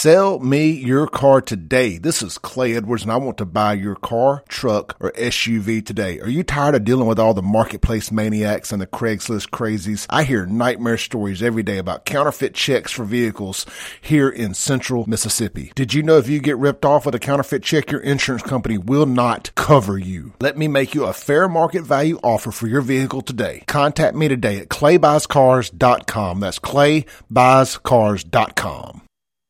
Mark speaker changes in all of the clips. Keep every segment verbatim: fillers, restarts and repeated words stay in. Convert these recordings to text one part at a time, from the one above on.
Speaker 1: Sell me your car today. This is Clay Edwards, and I want to buy your car, truck, or S U V today. Are you tired of dealing with all the marketplace maniacs and the Craigslist crazies? I hear nightmare stories every day about counterfeit checks for vehicles here in central Mississippi. Did you know if you get ripped off with a counterfeit check, your insurance company will not cover you? Let me make you a fair market value offer for your vehicle today. Contact me today at clay buys cars dot com. That's clay buys cars dot com.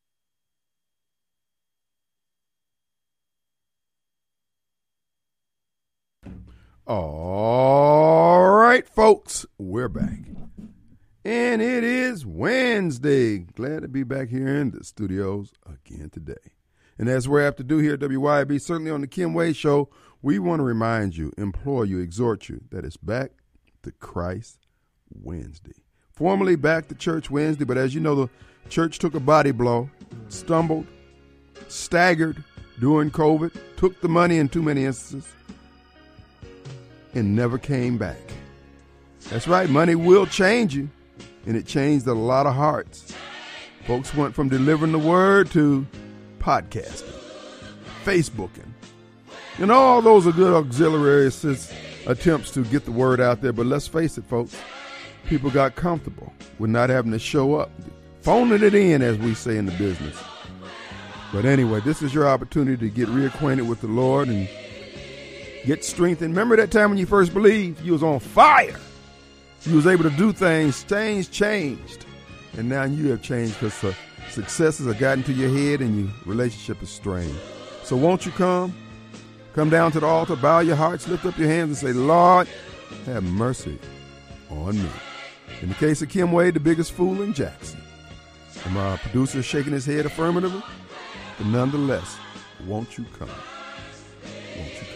Speaker 2: All right, folks, we're back. And it is Wednesday. Glad to be back here in the studios again today. And as we're apt to do here at W Y B, certainly on the Kim Wade Show, we want to remind you, implore you, exhort you that it's Back to Christ Wednesday. Formerly Back to Church Wednesday, but as you know, the church took a body blow, stumbled, staggered during COVID, took the money in too many instances, and never came back. That's right, money will change you, and it changed a lot of hearts. Folks went from delivering the word to podcasting, Facebooking, and all those are good auxiliary assist attempts to get the word out there. But let's face it, folks, people got comfortable with not having to show up, phoning it in, as we say in the business. But anyway, this is your opportunity to get reacquainted with the Lord and get strengthened. Remember that time when you first believed? You was on fire. You was able to do things. Things changed. And now you have changed because uh, successes have gotten to your head and your relationship is strained. So won't you come? Come down to the altar, bow your hearts, lift up your hands and say, Lord, have mercy on me. In the case of Kim Wade, the biggest fool in Jackson. And my producer shaking his head affirmatively. But nonetheless, won't you come? Won't you come?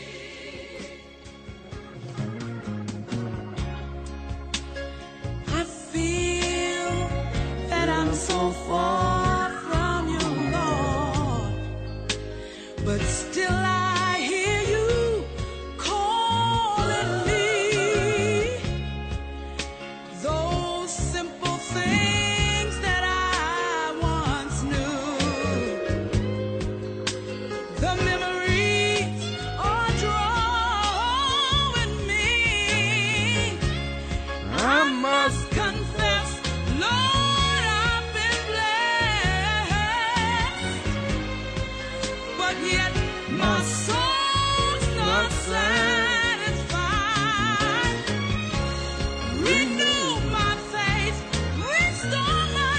Speaker 3: So far from you, Lord, but still I hear you calling me. Those simple things that I once knew, the memories are drawing me. I must confess, Lord, yet my soul's not satisfied. Renew my faith, restore my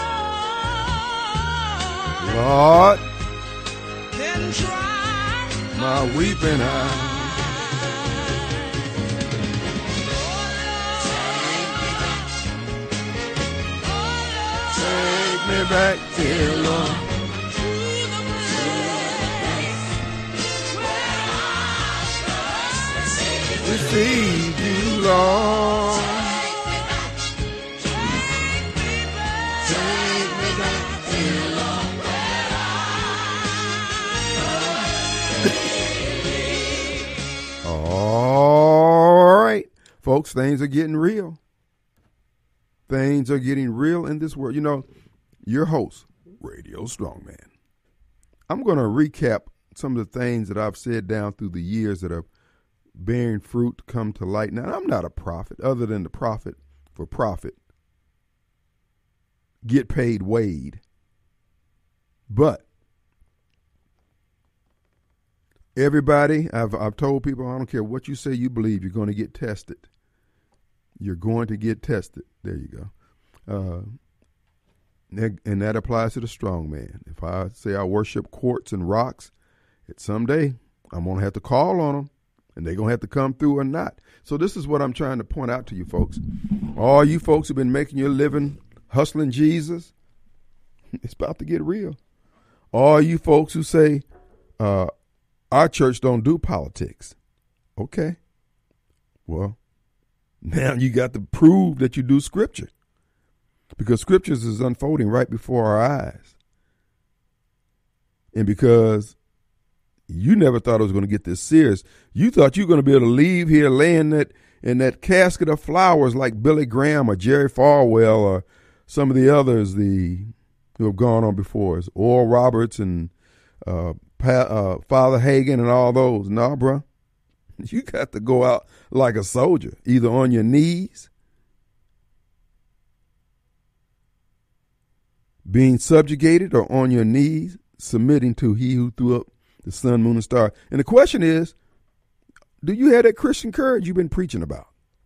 Speaker 3: joy.
Speaker 2: Lord,
Speaker 3: then dry
Speaker 2: my weeping eyes. Take me back, dear Lord. Receive you, Lord. Take me back, take me back, dear Lord. All right, folks, things are getting real. Things are getting real in this world. You know, your host, Radio Strongman. I'm going to recap some of the things that I've said down through the years that have bearing fruit come to light. Now, I'm not a prophet other than the prophet for profit. Get paid Wade. But everybody, I've, I've told people, I don't care what you say you believe, you're going to get tested. You're going to get tested. There you go. Uh, and that applies to the strong man. If I say I worship quartz and rocks, it's someday I'm going to have to call on them. And they're going to have to come through or not. So this is what I'm trying to point out to you folks. All you folks who've been making your living hustling Jesus, it's about to get real. All you folks who say, uh, our church don't do politics. Okay. Well, now you got to prove that you do scripture. Because scriptures is unfolding right before our eyes. And because you never thought it was going to get this serious. You thought you were going to be able to leave here laying that in that casket of flowers like Billy Graham or Jerry Falwell or some of the others, the who have gone on before us, Oral Roberts and uh, pa- uh, Father Hagen and all those. Nah, bro, you got to go out like a soldier, either on your knees, being subjugated, or on your knees, submitting to he who threw up the sun, moon, and star. And the question is, do you have that Christian courage you've been preaching about?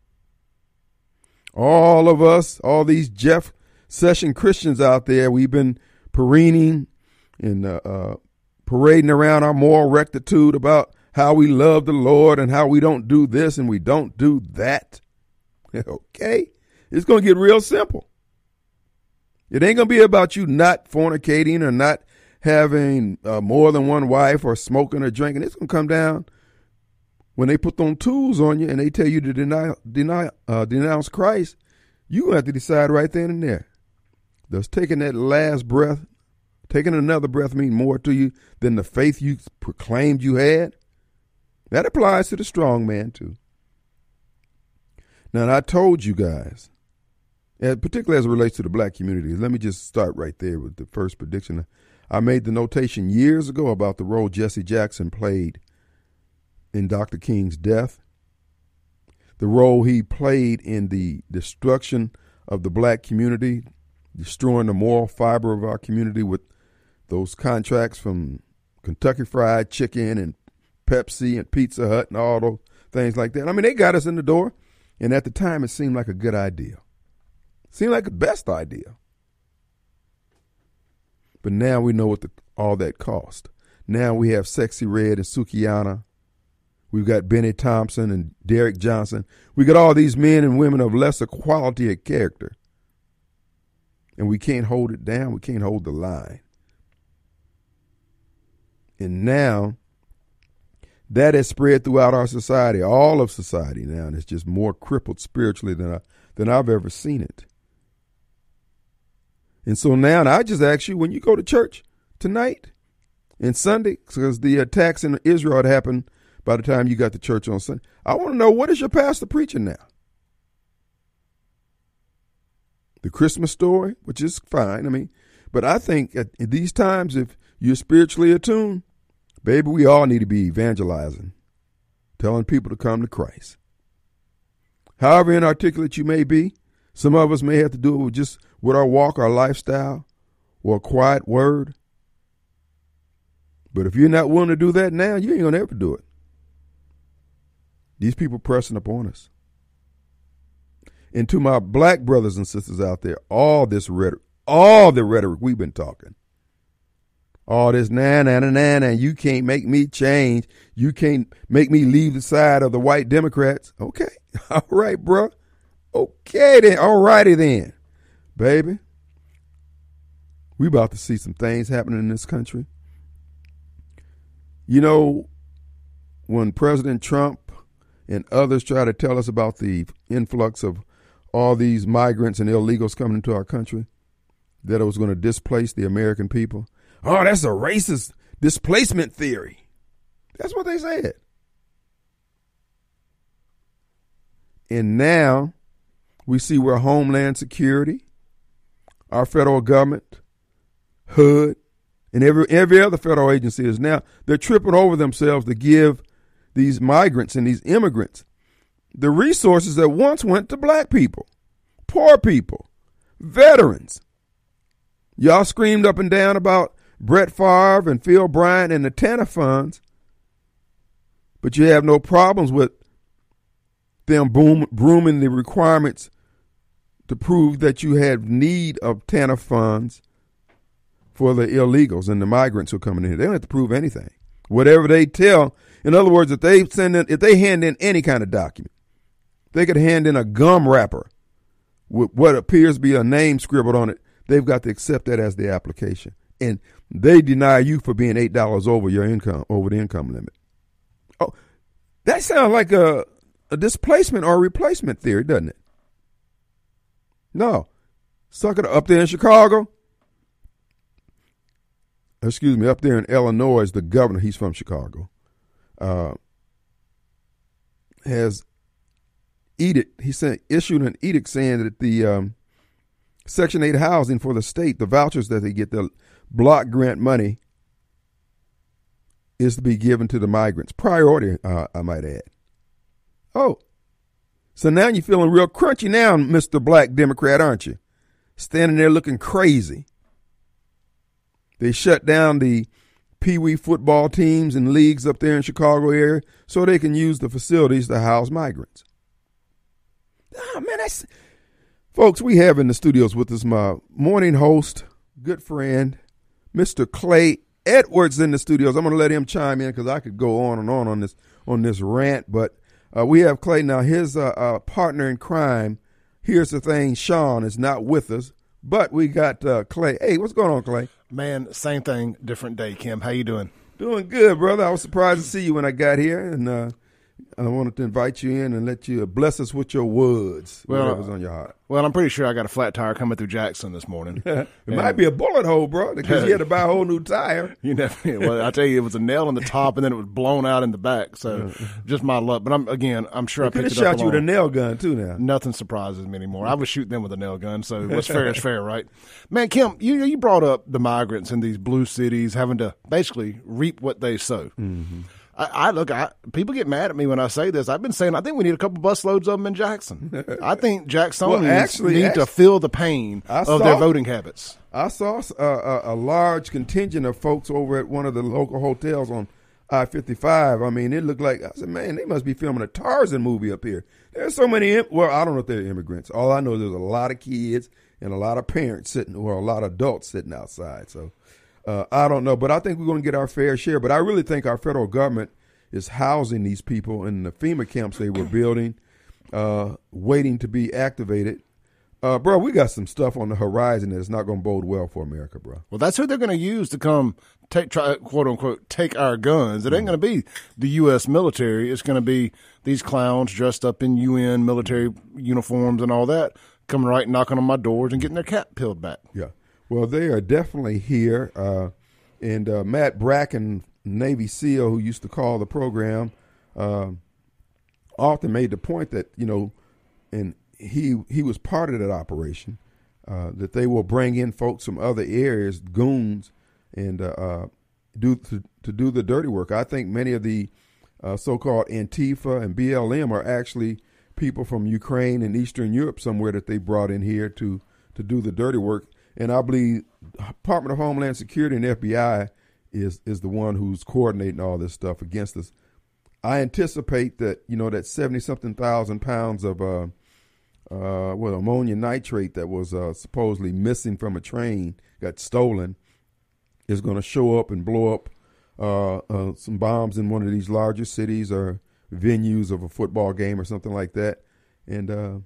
Speaker 2: All of us, all these Jeff Session Christians out there, we've been parading and uh, uh, parading around our moral rectitude about how we love the Lord and how we don't do this and we don't do that. Okay? It's going to get real simple. It ain't going to be about you not fornicating or not having uh, more than one wife or smoking or drinking. It's going to come down when they put them tools on you and they tell you to deny, deny, uh, denounce Christ. You have to decide right then and there. Does taking that last breath, taking another breath mean more to you than the faith you proclaimed you had? That applies to the strong man too. Now, I told you guys, particularly as it relates to the black community, let me just start right there with the first prediction. I made the notation years ago about the role Jesse Jackson played in Doctor King's death, the role he played in the destruction of the black community, destroying the moral fiber of our community with those contracts from Kentucky Fried Chicken and Pepsi and Pizza Hut and all those things like that. I mean, they got us in the door, and at the time it seemed like a good idea. Seemed like the best idea. But now we know what the, all that cost. Now we have Sexy Red and Sukihana. We've got Benny Thompson and Derek Johnson. We got all these men and women of lesser quality of character. And we can't hold it down. We can't hold the line. And now that has spread throughout our society, all of society now, and it's just more crippled spiritually than, I, than I've ever seen it. And so now, and I just ask you, when you go to church tonight and Sunday, because the attacks in Israel had happened by the time you got to church on Sunday, I want to know, what is your pastor preaching now? The Christmas story, which is fine. I mean, but I think at, at these times, if you're spiritually attuned, baby, we all need to be evangelizing, telling people to come to Christ. However inarticulate you may be, some of us may have to do it with just with our walk, our lifestyle, or a quiet word. But if you're not willing to do that now, you ain't going to ever do it. These people pressing upon us. And to my black brothers and sisters out there, all this rhetoric, all the rhetoric we've been talking, all this na na na na na, you can't make me change. You can't make me leave the side of the white Democrats. Okay, all right, bro. Okay then, all righty then, baby. We about to see some things happening in this country. You know, when President Trump and others try to tell us about the influx of all these migrants and illegals coming into our country, that it was going to displace the American people. Oh, that's a racist displacement theory. That's what they said. And now we see where Homeland Security, our federal government, H U D, and every every other federal agency is now, they're tripping over themselves to give these migrants and these immigrants the resources that once went to black people, poor people, veterans. Y'all screamed up and down about Brett Favre and Phil Bryant and the TANF funds, but you have no problems with them boom, brooming the requirements to prove that you have need of TANF funds for the illegals and the migrants who are coming in here. They don't have to prove anything. Whatever they tell, in other words, if they send in, if they hand in any kind of document, they could hand in a gum wrapper with what appears to be a name scribbled on it. They've got to accept that as the application. And they deny you for being eight dollars over your income, over the income limit. Oh, that sounds like a, a displacement or a replacement theory, doesn't it? No. Sucker, up there in Chicago, excuse me, up there in Illinois, the governor, he's from Chicago, uh, has edict, he sent, issued an edict saying that the um, Section eight housing for the state, the vouchers that they get, the block grant money, is to be given to the migrants. Priority, uh, I might add. Oh, so now you're feeling real crunchy now, Mister Black Democrat, aren't you? Standing there looking crazy. They shut down the Pee Wee football teams and leagues up there in Chicago area so they can use the facilities to house migrants. Oh, man, that's... Folks, we have in the studios with us my morning host, good friend, Mister Clay Edwards in the studios. I'm going to let him chime in because I could go on and on on this on this rant, but uh, we have Clay now. His uh, uh, partner in crime, here's the thing, Sean, is not with us, but we got uh, Clay. Hey, what's going on, Clay?
Speaker 1: Man, same thing, different day, Kim. How you doing?
Speaker 2: Doing good, brother. I was surprised to see you when I got here, and uh, I wanted to invite you in and let you bless us with your words,
Speaker 1: well,
Speaker 2: whatever's on your heart.
Speaker 1: Well, I'm pretty sure I got a flat tire coming through Jackson this morning.
Speaker 2: It and, might be a bullet hole, bro, because you had to buy a whole new tire.
Speaker 1: You never. Well, I tell you, it was a nail in the top, and then it was blown out in the back. So, just my luck. But I'm again, I'm sure I picked it up.
Speaker 2: Could have shot you with a nail gun too. Now
Speaker 1: nothing surprises me anymore. I would shoot them with a nail gun. So what's fair is fair, right? Man, Kim, you you brought up the migrants in these blue cities having to basically reap what they sow.
Speaker 2: Mm-hmm.
Speaker 1: I, I look, I, people get mad at me when I say this. I've been saying I think we need a couple busloads of them in Jackson. I think Jacksonians
Speaker 2: well, actually,
Speaker 1: need
Speaker 2: actually,
Speaker 1: to feel the pain
Speaker 2: I
Speaker 1: of
Speaker 2: saw,
Speaker 1: their voting habits.
Speaker 2: I saw a, a, a large contingent of folks over at one of the local hotels on I fifty-five. I mean, it looked like, I said, man, they must be filming a Tarzan movie up here. There's so many, well, I don't know if they're immigrants. All I know is there's a lot of kids and a lot of parents sitting, or a lot of adults sitting outside. So uh, I don't know, but I think we're going to get our fair share. But I really think our federal government is housing these people in the FEMA camps they were building, uh, waiting to be activated. Uh, bro, we got some stuff on the horizon that is not going to bode well for America, bro.
Speaker 1: Well, that's who they're going to use to come take, try, quote unquote, take our guns. It ain't going to be the U S military. It's going to be these clowns dressed up in U N military uniforms and all that, coming right knocking on my doors and getting their cap peeled back.
Speaker 2: Yeah. Well, they are definitely here. Uh, and uh, Matt Bracken, Navy SEAL, who used to call the program, uh, often made the point that, you know, and he he was part of that operation, uh, that they will bring in folks from other areas, goons, and uh, uh, do to, to do the dirty work. I think many of the uh, so-called Antifa and B L M are actually people from Ukraine and Eastern Europe somewhere that they brought in here to, to do the dirty work. And I believe Department of Homeland Security and F B I is is the one who's coordinating all this stuff against us. I anticipate that, you know, that seventy-something thousand pounds of uh, uh, well, ammonia nitrate that was uh, supposedly missing from a train, got stolen, is going to show up and blow up uh, uh, some bombs in one of these larger cities or venues of a football game or something like that. And uh,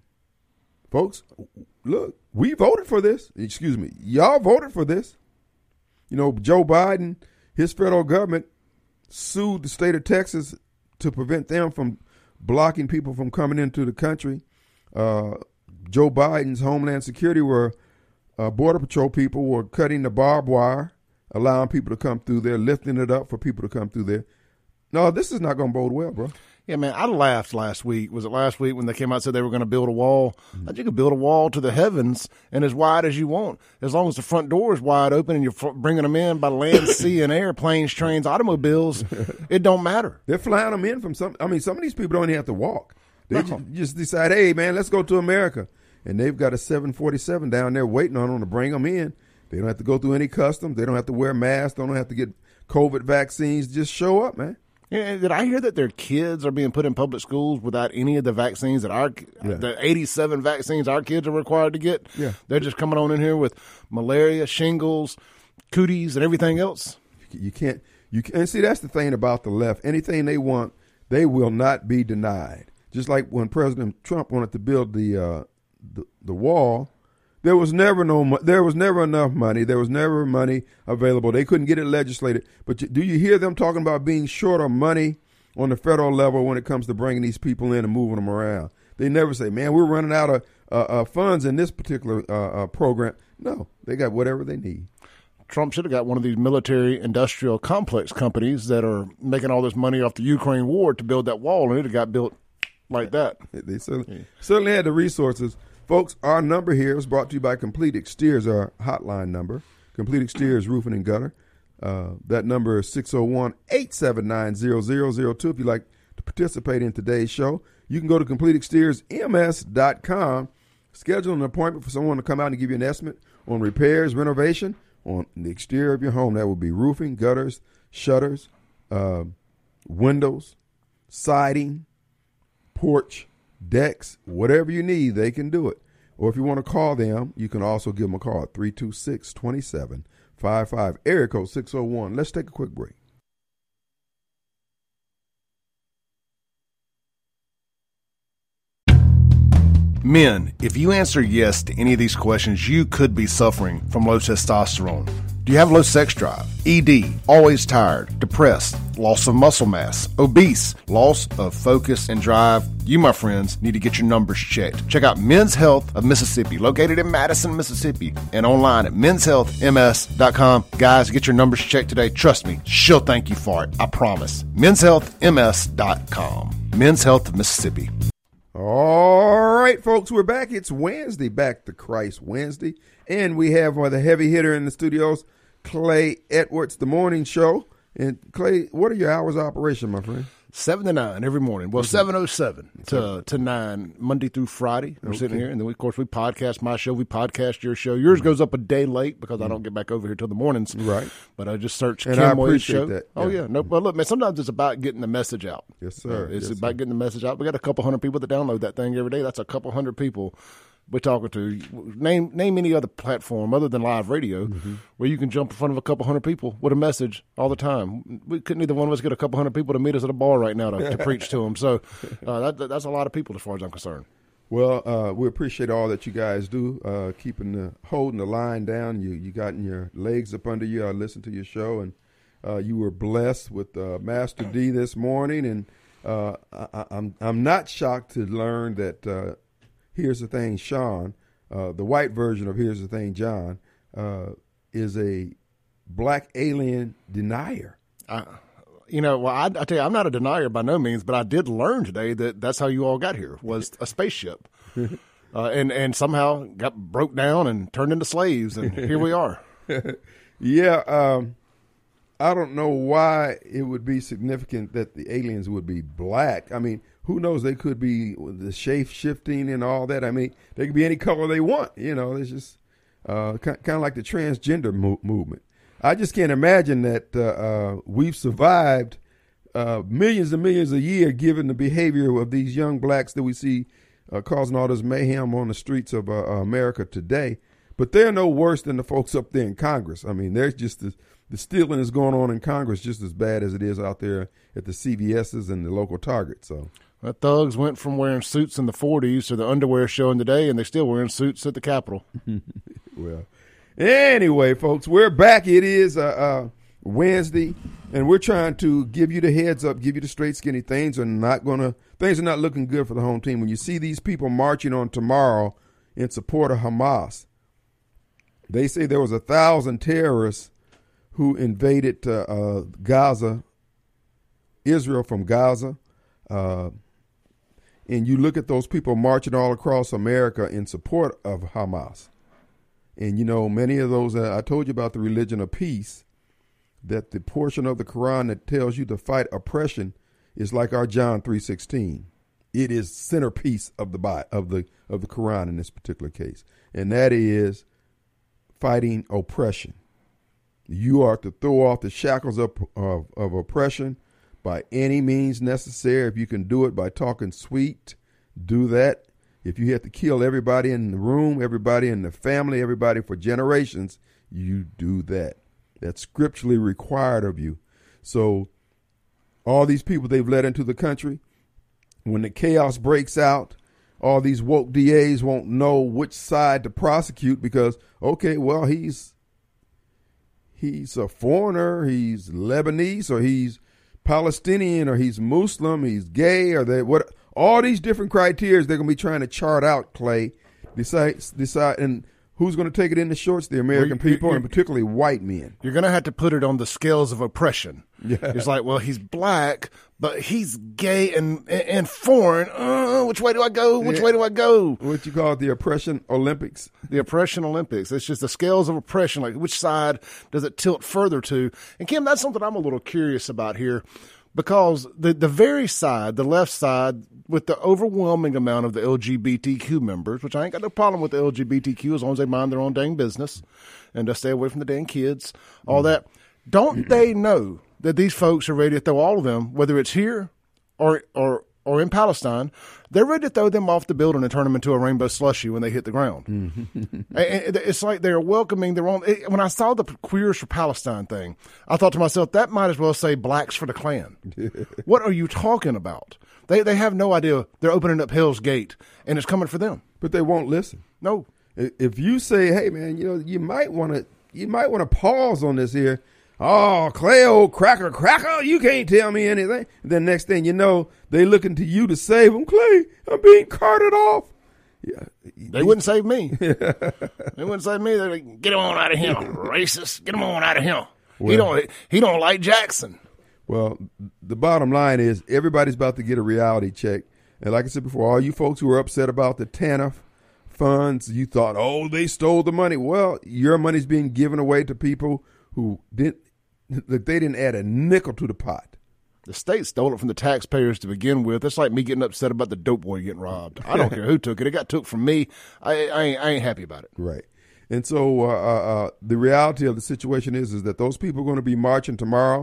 Speaker 2: folks, look, we voted for this. Excuse me. Y'all voted for this. You know, Joe Biden, his federal government sued the state of Texas to prevent them from blocking people from coming into the country. Uh, Joe Biden's Homeland Security were uh, Border Patrol people were cutting the barbed wire, allowing people to come through there, lifting it up for people to come through there. No, this is not going to bode well, bro.
Speaker 1: Yeah, man, I laughed last week. Was it last week when they came out and said they were going to build a wall? Mm-hmm. You could build a wall to the heavens and as wide as you want, as long as the front door is wide open and you're bringing them in by land, sea, and air, planes, trains, automobiles. It don't matter.
Speaker 2: They're flying them in from some. I mean, some of these people don't even have to walk. They
Speaker 1: No.
Speaker 2: just, just decide, hey, man, let's go to America. And they've got a seven forty-seven down there waiting on them to bring them in. They don't have to go through any customs. They don't have to wear masks. They don't have to get COVID vaccines. Just show up, man.
Speaker 1: Yeah, did I hear that their kids are being put in public schools without any of the vaccines that our
Speaker 2: Yeah.
Speaker 1: the eighty-seven vaccines our kids are required to get?
Speaker 2: Yeah.
Speaker 1: They're just coming on in here with malaria, shingles, cooties, and everything else.
Speaker 2: You can't. You can, and see, that's the thing about the left. Anything they want, they will not be denied. Just like when President Trump wanted to build the uh, the, the wall, there was never no mo- there was never enough money. There was never money available. They couldn't get it legislated. But you, do you hear them talking about being short of money on the federal level when it comes to bringing these people in and moving them around? They never say, "Man, we're running out of uh, uh, funds in this particular uh, uh, program." No, they got whatever they need.
Speaker 1: Trump should have got one of these military industrial complex companies that are making all this money off the Ukraine war to build that wall, and it have got built like that.
Speaker 2: They certainly, certainly had the resources Folks, our number here is brought to you by Complete Exteriors, our hotline number. Complete Exteriors Roofing and Gutter. Uh, that number is six oh one, eight seven nine, zero zero zero two. If you'd like to participate in today's show, you can go to complete exteriors m s dot com, schedule an appointment for someone to come out and give you an estimate on repairs, renovation on the exterior of your home. That would be roofing, gutters, shutters, uh, windows, siding, porch, decks, whatever you need, they can do it. Or if you want to call them, you can also give them a call at three two six, two seven five five, area code six oh one. Let's take a quick break.
Speaker 1: Men, if you answer yes to any of these questions, you could be suffering from low testosterone. Do you have low sex drive? E D, always tired, depressed, loss of muscle mass, obese, loss of focus and drive? You, my friends, need to get your numbers checked. Check out Men's Health of Mississippi, located in Madison, Mississippi, and online at men's health m s dot com. Guys, get your numbers checked today. Trust me, she'll thank you for it. I promise. men's health m s dot com. Men's Health of Mississippi.
Speaker 2: All right, folks, we're back. It's Wednesday, Back to Christ Wednesday, and we have uh, the heavy hitter in the studios, Clay Edwards, the morning show. And Clay, what are your hours of operation, my friend?
Speaker 1: Seven to nine every morning. Well, seven oh seven to to nine Monday through Friday. We're
Speaker 2: Okay.
Speaker 1: sitting here, and then we, of course we podcast my show. We podcast your show. Yours goes up a day late because I don't get back over here till the mornings.
Speaker 2: Right.
Speaker 1: But I just search
Speaker 2: And
Speaker 1: Kim
Speaker 2: I
Speaker 1: Wade's
Speaker 2: appreciate
Speaker 1: show.
Speaker 2: that.
Speaker 1: Oh
Speaker 2: Yeah.
Speaker 1: yeah. No, well look, man. Sometimes it's about getting the message out.
Speaker 2: Yes, sir.
Speaker 1: Uh, it's
Speaker 2: Yes,
Speaker 1: about
Speaker 2: sir.
Speaker 1: getting the message out. We got a couple hundred people that download that thing every day. That's a couple hundred people we're talking to. Name name any other platform other than live radio
Speaker 2: Mm-hmm.
Speaker 1: where you can jump in front of a couple hundred people with a message all the time. We couldn't either one of us get a couple hundred people to meet us at a bar right now to, to preach to them. So uh, that, that's a lot of people as far as I'm concerned.
Speaker 2: Well, uh, we appreciate all that you guys do, uh, keeping the holding the line down. You you gotten your legs up under you. I listened to your show, and uh, you were blessed with uh, Master D this morning. And uh, I, I'm I'm not shocked to learn that uh, Here's the Thing, Sean, uh, the white version of Here's the Thing, John, uh, is a black alien denier.
Speaker 1: I, you know, well, I, I tell you, I'm not a denier by no means, but I did learn today that that's how you all got here, was a spaceship. uh, and, and somehow got broke down and turned into slaves, and here we are.
Speaker 2: Yeah, um, I don't know why it would be significant that the aliens would be black. I mean, who knows? They could be the shape shifting and all that. I mean, they could be any color they want. You know, it's just uh, kind of like the transgender mo- movement. I just can't imagine that uh, uh, we've survived uh, millions and millions a year given the behavior of these young blacks that we see uh, causing all this mayhem on the streets of uh, America today. But they're no worse than the folks up there in Congress. I mean, there's just the, the stealing is going on in Congress just as bad as it is out there at the C V S's and the local Targets. So
Speaker 1: The thugs went from wearing suits in the forties to the underwear showing today, and they're still wearing suits at the Capitol.
Speaker 2: Well, anyway, folks, we're back. It is uh, uh, Wednesday, and we're trying to give you the heads up, give you the straight skinny. Things are not going to, things are not looking good for the home team. When you see these people marching on tomorrow in support of Hamas, they say there was a thousand terrorists who invaded uh, uh, Gaza, Israel from Gaza. Uh, and you look at those people marching all across America in support of Hamas. And, you know, many of those, uh, I told you about the religion of peace, that the portion of the Quran that tells you to fight oppression is like our John three sixteen. It is centerpiece of the of the of the Quran in this particular case. And that is fighting oppression. You are to throw off the shackles of, of, of oppression by any means necessary. If you can do it by talking sweet, do that. If you have to kill everybody in the room, everybody in the family, everybody for generations, you do that. That's scripturally required of you. So all these people they've let into the country, when the chaos breaks out, all these woke D As won't know which side to prosecute because, okay, well, he's he's a foreigner, he's Lebanese, or he's Palestinian, or he's Muslim, he's gay, or they what? All these different criteria they're going to be trying to chart out, Clay. Decide, decide, and who's going to take it in the shorts? The American
Speaker 1: Well, you-
Speaker 2: people,
Speaker 1: you-
Speaker 2: and particularly white men.
Speaker 1: You're going to have to put it on the scales of oppression.
Speaker 2: Yeah.
Speaker 1: It's like, well, he's black, but he's gay and and foreign. Uh, which way do I go? Which
Speaker 2: Yeah.
Speaker 1: way do I go?
Speaker 2: What you call it, the oppression Olympics.
Speaker 1: The oppression Olympics. It's just the scales of oppression. Like, which side does it tilt further to? And Kim, that's something I'm a little curious about here, because the the very side, the left side, with the overwhelming amount of the L G B T Q members, which I ain't got no problem with the L G B T Q as long as they mind their own dang business and just stay away from the dang kids, all that. Don't they know that these folks are ready to throw all of them, whether it's here or or or in Palestine, they're ready to throw them off the building and turn them into a rainbow slushy when they hit the ground. And it's like they're welcoming their own. When I saw the Queers for Palestine thing, I thought to myself, that might as well say Blacks for the Klan. What are you talking about? They they have no idea they're opening up Hell's Gate, and it's coming for them.
Speaker 2: But they won't listen.
Speaker 1: No.
Speaker 2: If you say, hey, man, you know, you might want to you might want to pause on this here. Oh, Clay, old cracker, cracker, you can't tell me anything. Then next thing you know, they looking to you to save them. Clay, I'm being carted off. Yeah,
Speaker 1: They wouldn't save me. They wouldn't save me. They're like, get him on out of here, racist. Get him on out of here.
Speaker 2: Well-
Speaker 1: he don't he don't like Jackson.
Speaker 2: Well, the bottom line is everybody's about to get a reality check. And like I said before, all you folks who are upset about the TANF funds, you thought, oh, they stole the money. Well, your money's being given away to people who didn't, that they didn't add a nickel to the pot.
Speaker 1: The state stole it from the taxpayers to begin with. It's like me getting upset about the dope boy getting robbed. I don't care who took it. It got took from me. I, I, ain't, I ain't happy about it.
Speaker 2: Right. And so uh, uh, the reality of the situation is, is that those people are going to be marching tomorrow.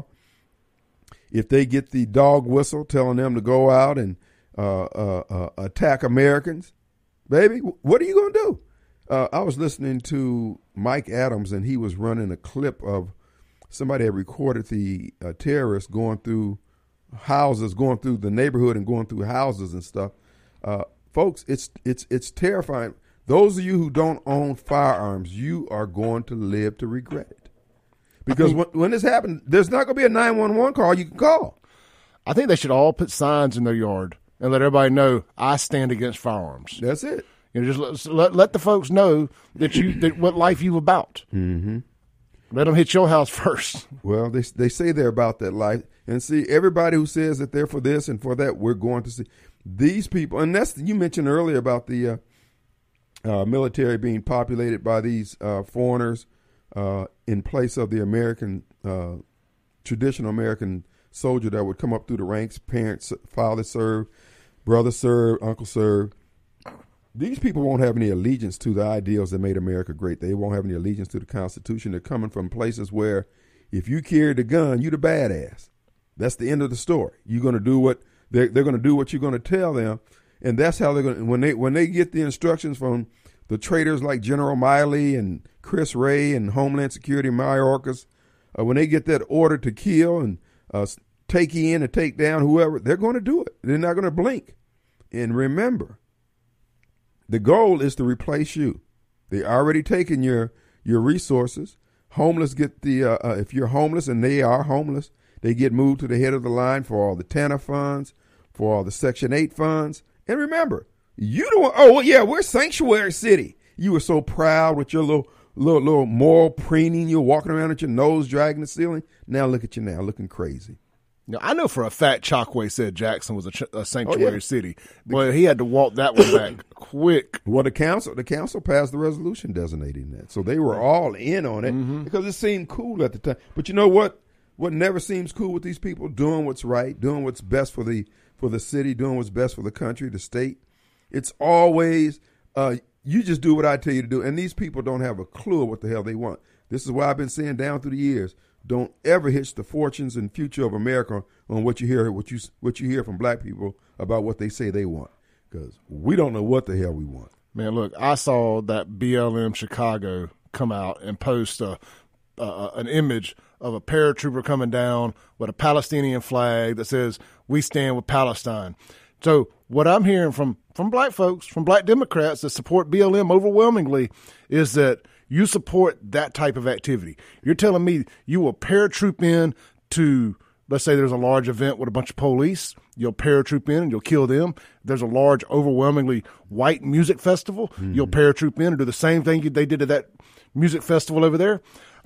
Speaker 2: If they get the dog whistle telling them to go out and uh, uh, uh, attack Americans, baby, what are you going to do? Uh, I was listening to Mike Adams, and he was running a clip of somebody had recorded the uh, terrorists going through houses, going through the neighborhood and going through houses and stuff. Uh, folks, it's it's it's terrifying. Those of you who don't own firearms, you are going to live to regret it. Because
Speaker 1: think,
Speaker 2: when, when this happened, there's not going to be a nine one one call you can call.
Speaker 1: I think they should all put signs in their yard and let everybody know I stand against firearms.
Speaker 2: That's it.
Speaker 1: You know, just let, let, let the folks know that you that what life you about.
Speaker 2: Mm-hmm.
Speaker 1: Let them hit your house first.
Speaker 2: Well, they they say they're about that life. And see, everybody who says that they're for this and for that, we're going to see. These people, and that's, you mentioned earlier about the uh, uh, military being populated by these uh, foreigners uh, in place of the American, uh, traditional American soldier that would come up through the ranks, parents, father served, brother served, uncle served. These people won't have any allegiance to the ideals that made America great. They won't have any allegiance to the Constitution. They're coming from places where if you carry the gun, you the badass. That's the end of the story. You're going to do what they're, they're going to do what you're going to tell them, and that's how they're going to. When they when they get the instructions from the traitors like General Miley and Chris Wray and Homeland Security Mayorkas, uh, when they get that order to kill and uh, take in and take down whoever, they're going to do it. They're not going to blink. And remember, the goal is to replace you. They already taken your your resources. Homeless get the uh, uh, if you're homeless, and they are homeless, they get moved to the head of the line for all the TANF funds, for all the Section eight funds. And remember, you don't. Oh well, yeah, we're Sanctuary City. You were so proud with your little little little moral preening. You're walking around with your nose dragging the ceiling. Now look at you now, looking crazy.
Speaker 1: Now, I know for a fact Chokwe said Jackson was a, ch- a sanctuary
Speaker 2: Oh, yeah.
Speaker 1: city, but he had to walk that one back quick.
Speaker 2: Well, the council the council passed the resolution designating that, so they were all in on it
Speaker 1: Mm-hmm.
Speaker 2: because it seemed cool at the time. But you know what? What never seems cool with these people doing what's right, doing what's best for the for the city, doing what's best for the country, the state. It's always uh, you just do what I tell you to do, and these people don't have a clue of what the hell they want. This is why I've been saying down through the years. Don't ever hitch the fortunes and future of America on what you hear, what you what you hear from black people about what they say they want, because we don't know what the hell we want.
Speaker 1: Man, look, I saw that B L M Chicago come out and post a, uh, an image of a paratrooper coming down with a Palestinian flag that says, "We stand with Palestine." So what I'm hearing from, from black folks, from black Democrats that support B L M overwhelmingly, is that you support that type of activity. You're telling me you will paratroop in to, let's say there's a large event with a bunch of police. You'll paratroop in and you'll kill them. There's a large, overwhelmingly white music festival. Mm-hmm. You'll paratroop in and do the same thing they did to that music festival over there. I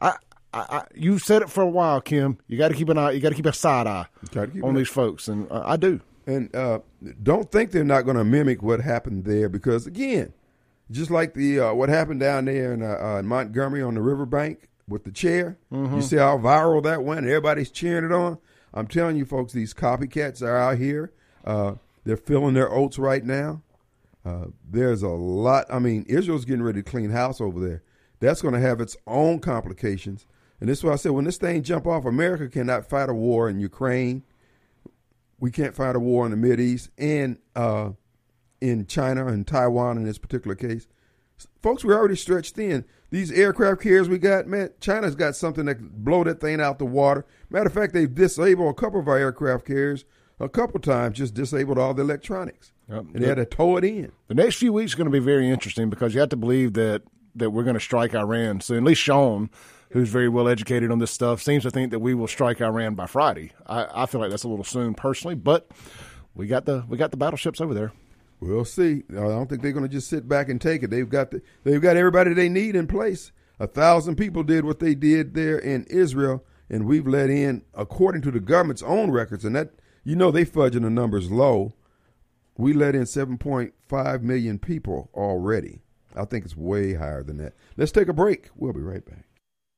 Speaker 1: I, I, you said it for a while, Kim. You got to keep an eye. You got to keep a side eye
Speaker 2: keep
Speaker 1: on these folks, and uh, I do.
Speaker 2: And uh, don't think they're not going to mimic what happened there, because again, just like the uh, what happened down there in, uh, uh, in Montgomery on the riverbank with the chair, mm-hmm. you see how viral that went. Everybody's cheering it on. I'm telling you, folks, these copycats are out here. Uh, they're filling their oats right now. Uh, there's a lot. I mean, Israel's getting ready to clean house over there. That's going to have its own complications. And this is why I said, when this thing jump off, America cannot fight a war in Ukraine. We can't fight a war in the Mideast and uh, in China and Taiwan in this particular case. Folks, we're already stretched thin. These aircraft carriers we got, man, China's got something that can blow that thing out the water. Matter of fact, they've disabled a couple of our aircraft carriers a couple times, just disabled all the electronics. Yep. And they had to tow it in.
Speaker 1: The next few weeks are going to be very interesting, because you have to believe that, that we're going to strike Iran. So at least Sean, who's very well educated on this stuff, seems to think that we will strike Iran by Friday. I, I feel like that's a little soon personally, but we got the we got the battleships over there.
Speaker 2: We'll see. I don't think they're going to just sit back and take it. They've got the, they've got everybody they need in place. A thousand people did what they did there in Israel, and we've let in, according to the government's own records, and that, you know, they fudging the numbers low. We let in seven point five million people already. I think it's way higher than that. Let's take a break. We'll be right back.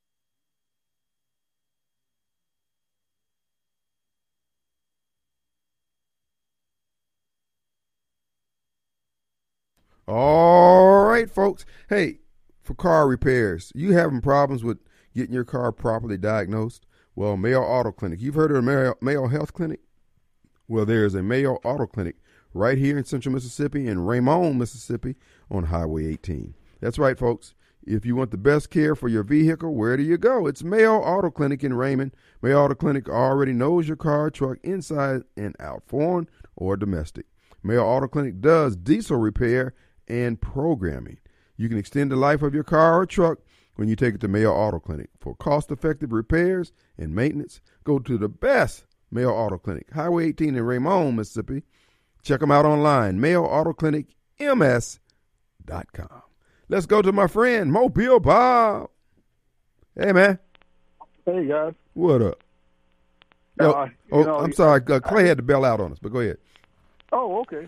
Speaker 2: All right, folks. Hey, for car repairs, you having problems with getting your car properly diagnosed? Well, Mayo Auto Clinic. You've heard of the Mayo, Mayo Health Clinic? Well, there's a Mayo Auto Clinic right here in Central Mississippi and Raymond, Mississippi on Highway eighteen. That's right, folks. If you want the best care for your vehicle, where do you go? It's Mayo Auto Clinic in Raymond. Mayo Auto Clinic already knows your car, truck, inside and out, foreign or domestic. Mayo Auto Clinic does diesel repair and programming. You can extend the life of your car or truck when you take it to Mayo Auto Clinic. For cost-effective repairs and maintenance, go to the best Mayo Auto Clinic, Highway eighteen in Raymond, Mississippi. Check them out online, mayo auto clinic m s dot com. Let's go to my friend, Mobile Bob. Hey, man.
Speaker 4: Hey, guys.
Speaker 2: What up? Yo,
Speaker 4: uh,
Speaker 2: oh,
Speaker 4: know,
Speaker 2: I'm sorry. Uh, Clay I, had to bail out on us, but go ahead.
Speaker 4: Oh, okay.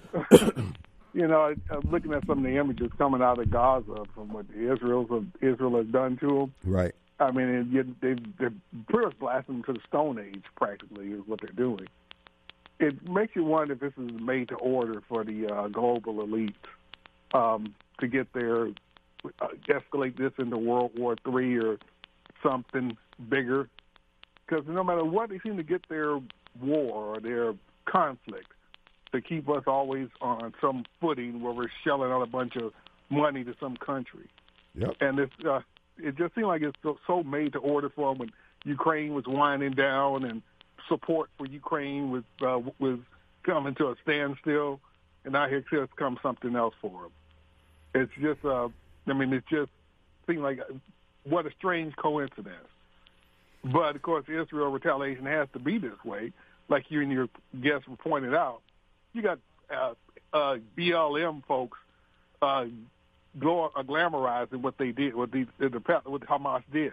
Speaker 4: You know, I, I'm looking at some of the images coming out of Gaza from what Israel's Israel has done to them.
Speaker 2: Right.
Speaker 4: I mean, it, they, they're pretty much blasting them to the Stone Age, practically, is what they're doing. It makes you wonder if this is made to order for the uh, global elite um, to get their uh, escalate this into World War Three or something bigger. Because no matter what, they seem to get their war or their conflict to keep us always on some footing where we're shelling out a bunch of money to some country.
Speaker 2: Yep.
Speaker 4: And it's, uh, it just seemed like it's so, so made to order for them when Ukraine was winding down and support for Ukraine was uh, was coming to a standstill, and now here just comes something else for them. It's just, uh, I mean, it just seemed like what a strange coincidence. But of course, Israel retaliation has to be this way, like you and your guests pointed out. You got uh, uh, B L M folks uh, glor- uh, glamorizing what they did, what the, the what Hamas did.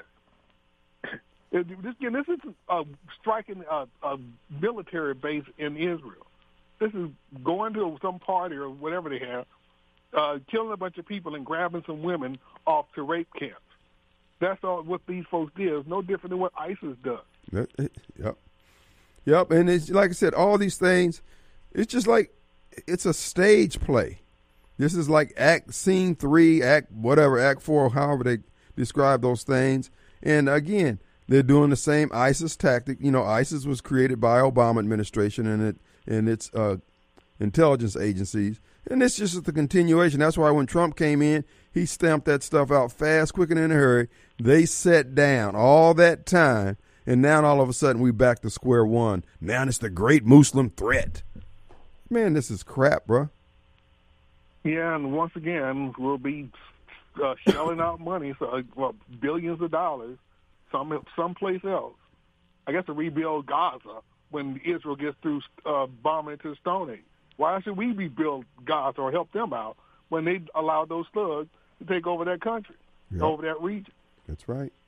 Speaker 4: This, again, this is uh, striking a, a military base in Israel. This is going to some party or whatever they have, uh, killing a bunch of people and grabbing some women off to rape camps. That's all what these folks did. It's no different than what ISIS does.
Speaker 2: Yep. Yep. And it's like I said, all these things, it's just like it's a stage play. This is like act scene three, act whatever, act four, however they describe those things. And again, they're doing the same ISIS tactic. You know, ISIS was created by Obama administration and it and its uh, intelligence agencies. And it's just the continuation. That's why when Trump came in, he stamped that stuff out fast, quick, and in a hurry. They sat down all that time, and now all of a sudden we back to square one. Now it's the great Muslim threat. Man, this is crap, bro.
Speaker 4: Yeah, and once again, we'll be uh, shelling out money, so uh, well, billions of dollars, some someplace else. I guess to rebuild Gaza when Israel gets through uh, bombing into the Stone Age. Why should we rebuild Gaza or help them out when they allow those thugs to take over that country,
Speaker 2: yep.
Speaker 4: over that region?
Speaker 2: That's right.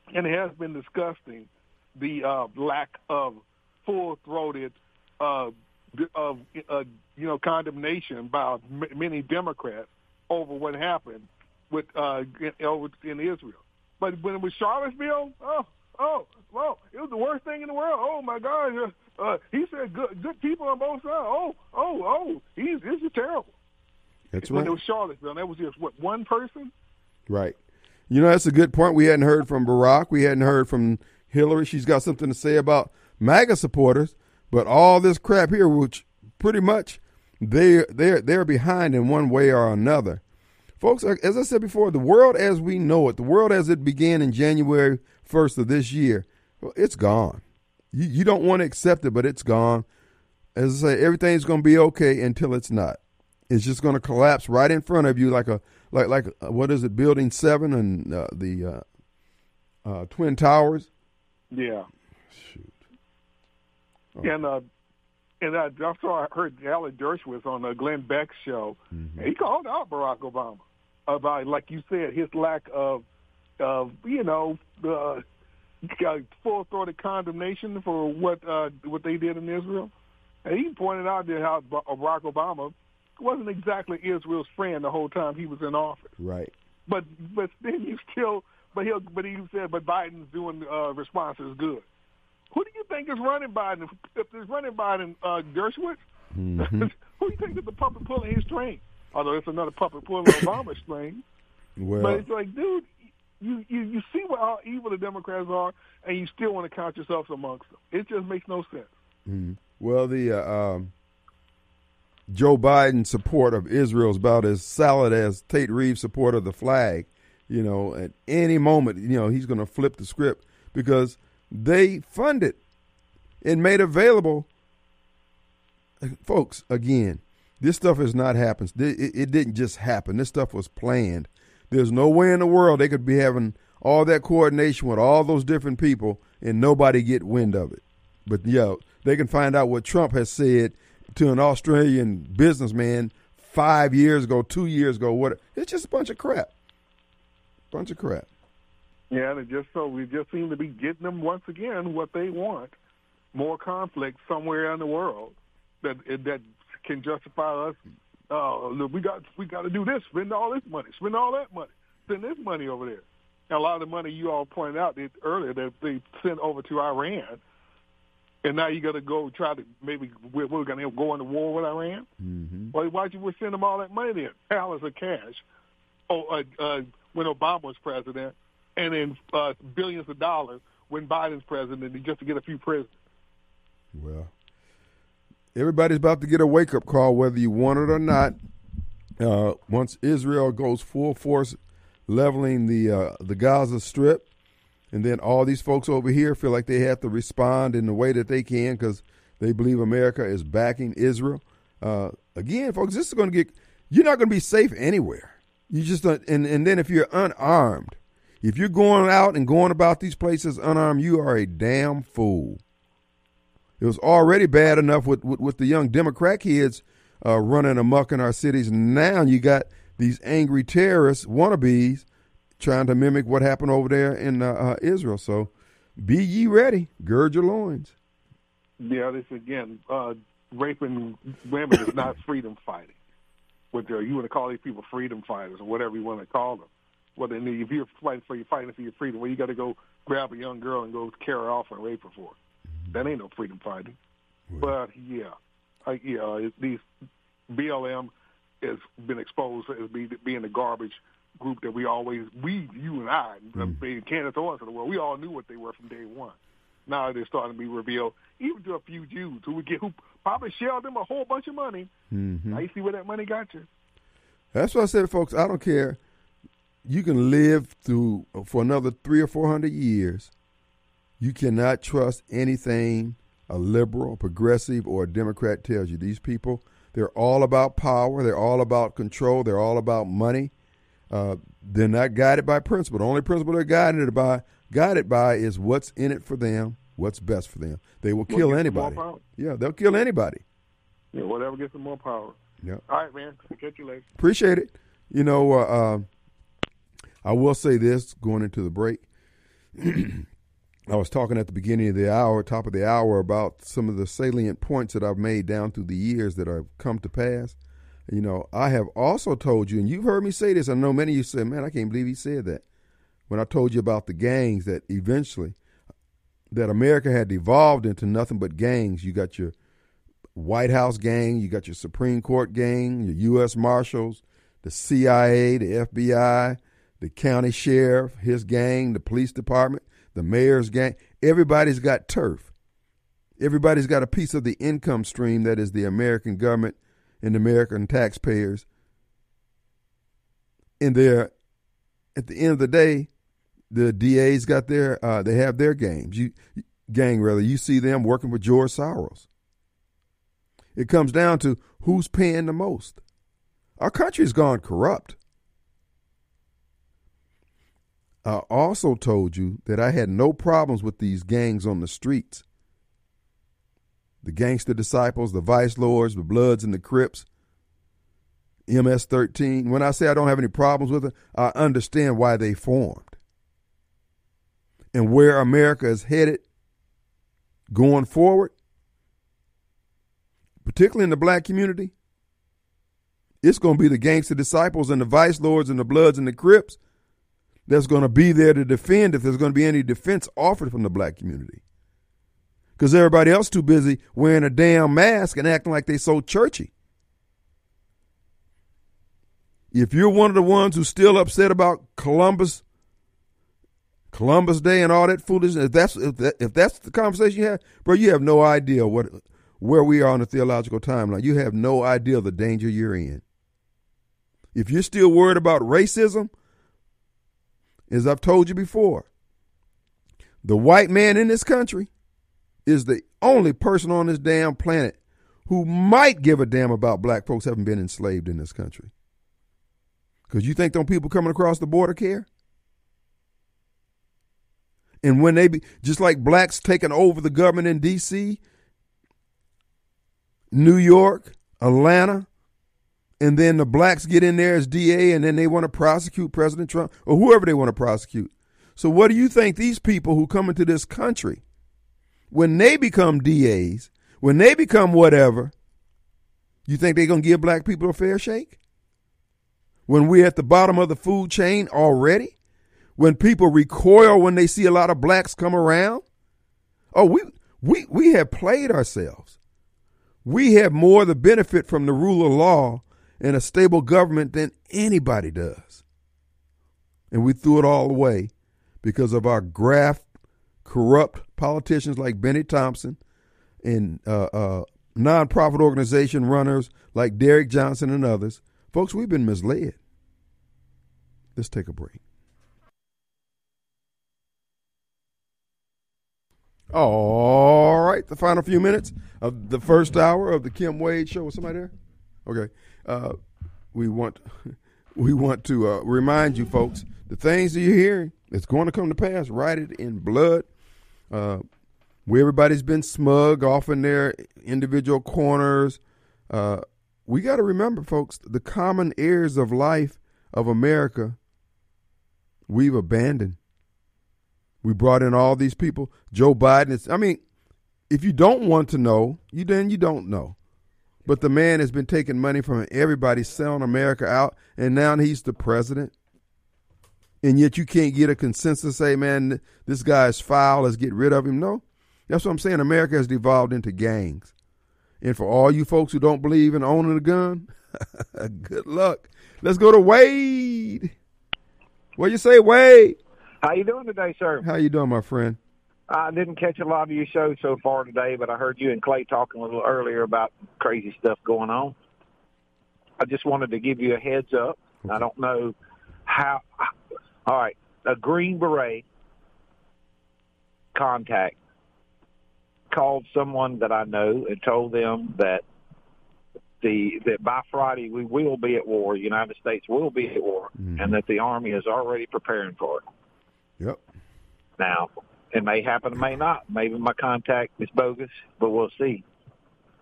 Speaker 4: and it has been disgusting, the uh, lack of full-throated, uh, of uh, you know, condemnation by m- many Democrats over what happened with uh, in, over in Israel. But when it was Charlottesville, oh, oh, well, it was the worst thing in the world. Oh my God, uh, uh, he said good, good people on both sides. Oh, oh, oh, he's this is terrible.
Speaker 2: That's
Speaker 4: when
Speaker 2: right.
Speaker 4: it was Charlottesville, and that was just what one person.
Speaker 2: Right. You know, that's a good point. We hadn't heard from Barack. We hadn't heard from Hillary. She's got something to say about MAGA supporters, but all this crap here, which pretty much they they're they're behind in one way or another. Folks, as I said before, the world as we know it, the world as it began in January first of this year, well, it's gone. You, you don't want to accept it, but it's gone. As I say, everything's going to be okay until it's not. It's just going to collapse right in front of you like a like like uh, what is it, Building Seven and uh, the uh, uh, Twin Towers.
Speaker 4: Yeah.
Speaker 2: Shoot. Oh.
Speaker 4: And uh, and I, I saw I heard Alan Dershowitz on the Glenn Beck show,
Speaker 2: Mm-hmm.
Speaker 4: and he called out Barack Obama about, like you said, his lack of of you know uh, full-throated condemnation for what uh, what they did in Israel, and he pointed out that how Barack Obama wasn't exactly Israel's friend the whole time he was in office.
Speaker 2: Right.
Speaker 4: But but then you still but he but he said but Biden's doing uh, responses good. Who do you think is running Biden? If there's running Biden, uh, Dershowitz,
Speaker 2: Mm-hmm.
Speaker 4: who do you think is the puppet pulling his string? Although it's another puppet pulling Obama's string.
Speaker 2: Well,
Speaker 4: But it's like, dude, you, you, you see what how evil the Democrats are, and you still want to count yourself amongst them. It just makes no sense.
Speaker 2: mm-hmm. well, the uh, um, Joe Biden support of Israel is about as solid as Tate Reeves' support of the flag. You know, at any moment, you know, he's going to flip the script because they funded and made available. Folks, again, this stuff has not happened. It, it didn't just happen. This stuff was planned. There's no way in the world they could be having all that coordination with all those different people and nobody get wind of it. But, yeah, they can find out what Trump has said to an Australian businessman five years ago, two years ago. What? It's just a bunch of crap. Bunch of crap.
Speaker 4: Yeah, and it just so we just seem to be getting them once again what they want, more conflict somewhere in the world that that can justify us. Uh, look, we got we got to do this, spend all this money, spend all that money, spend this money over there. And a lot of the money you all pointed out that earlier that they sent over to Iran, and now you got to go try to maybe we're, we're going to go into war with Iran.
Speaker 2: Mm-hmm.
Speaker 4: Well, why'd you send them all that money then? Palace of cash. Oh, uh, uh, when Obama was president, and then uh, billions of dollars when Biden's president just to get a few prisoners.
Speaker 2: Well, everybody's about to get a wake-up call, whether you want it or not. Uh, once Israel goes full force leveling the uh, the Gaza Strip, and then all these folks over here feel like they have to respond in the way that they can because they believe America is backing Israel. Uh, again, folks, this is going to get – you're not going to be safe anywhere. You just don't, and, and then if you're unarmed, if you're going out and going about these places unarmed, you are a damn fool. It was already bad enough with, with, with the young Democrat kids uh, running amok in our cities. Now you got these angry terrorists, wannabes, trying to mimic what happened over there in uh, uh, Israel. So be ye ready. Gird your loins.
Speaker 4: Yeah, this again, uh, raping women is not freedom fighting. What you want to call these people freedom fighters or whatever you want to call them. Well, then if you're fighting for your fighting for your freedom, well, you got to go grab a young girl and go carry her off and rape her for it. That ain't no freedom fighting.
Speaker 2: Right.
Speaker 4: But yeah, I, yeah, it, these B L M has been exposed as be, being the garbage group that we always, we, you and I, mm. being Candace Owens of the world, we all knew what they were from day one. Now they're starting to be revealed, even to a few Jews who would get who probably shelled them a whole bunch of money.
Speaker 2: Mm-hmm.
Speaker 4: Now you see where that money got you.
Speaker 2: That's what I said, folks. I don't care. You can live through for another three or four hundred years. You cannot trust anything a liberal, progressive, or a Democrat tells you. These people, they're all about power. They're all about control. They're all about money. Uh, they're not guided by principle. The only principle they're guided by, guided by is what's in it for them, what's best for them. They will kill
Speaker 4: what
Speaker 2: anybody. Yeah, they'll kill anybody.
Speaker 4: Yeah, whatever gets them more power.
Speaker 2: Yeah.
Speaker 4: All right, man. I'll catch you later.
Speaker 2: Appreciate it. You know, uh, uh, I will say this going into the break. I was talking at the beginning of the hour, top of the hour, about some of the salient points that I've made down through the years that have come to pass. You know, I have also told you, and you've heard me say this, I know many of you said, man, I can't believe he said that. When I told you about the gangs, that eventually, that America had evolved into nothing but gangs. You got your White House gang, you got your Supreme Court gang, your U S Marshals, the C I A, the F B I, the county sheriff, his gang, the police department, the mayor's gang. Everybody's got turf. Everybody's got a piece of the income stream that is the American government and the American taxpayers. And they're, at the end of the day, the D A's got their, uh, they have their games. You, gang, rather. You see them working with George Soros. It comes down to who's paying the most. Our country's gone corrupt. I also told you that I had no problems with these gangs on the streets. The Gangster Disciples, the Vice Lords, the Bloods and the Crips, M S thirteen. When I say I don't have any problems with it, I understand why they formed. And where America is headed going forward, particularly in the black community, it's going to be the Gangster Disciples and the Vice Lords and the Bloods and the Crips that's going to be there to defend if there's going to be any defense offered from the black community. Because everybody else too busy wearing a damn mask and acting like they so churchy. If you're one of the ones who's still upset about Columbus, Columbus Day and all that foolishness, if that's if, that, if that's the conversation you have, bro, you have no idea what where we are on the theological timeline. You have no idea the danger you're in. If you're still worried about racism, as I've told you before, the white man in this country is the only person on this damn planet who might give a damn about black folks having been enslaved in this country. Because you think them people coming across the border care? And when they be, just like blacks taking over the government in D C, New York, Atlanta, and then the blacks get in there as D A and then they want to prosecute President Trump or whoever they want to prosecute. So what do you think these people who come into this country, when they become D As, when they become whatever, you think they're going to give black people a fair shake? When we're at the bottom of the food chain already? When people recoil when they see a lot of blacks come around? Oh, we we we have played ourselves. We have more of the benefit from the rule of law and a stable government than anybody does. And we threw it all away because of our graft, corrupt politicians like Benny Thompson and uh, uh, nonprofit organization runners like Derek Johnson and others. Folks, we've been misled. Let's take a break. All right, the final few minutes of the first hour of the Kim Wade Show. Was somebody there? Okay. Uh, we want we want to uh, remind you, folks, the things that you're hearing, it's going to come to pass. Write it in blood. Uh, where everybody's been smug off in their individual corners. Uh, we got to remember, folks, the common heirs of life of America, we've abandoned. We brought in all these people. Joe Biden is, I mean, if you don't want to know, you then you don't know. But the man has been taking money from everybody, selling America out, and now he's the president. And yet you can't get a consensus, say, man, this guy is foul, let's get rid of him. No, that's what I'm saying. America has devolved into gangs. And for all you folks who don't believe in owning a gun, good luck. Let's go to Wade. What you say, Wade?
Speaker 5: How you doing today, sir?
Speaker 2: How you doing, my friend?
Speaker 5: I didn't catch a lot of your show so far today, but I heard you and Clay talking a little earlier about crazy stuff going on. I just wanted to give you a heads up. Okay. I don't know how. All right, a Green Beret contact called someone that I know and told them that the that by Friday we will be at war. The United States will be at war, mm-hmm. and that the Army is already preparing for it.
Speaker 2: Yep.
Speaker 5: Now, it may happen, it may not. Maybe my contact is bogus, but we'll see.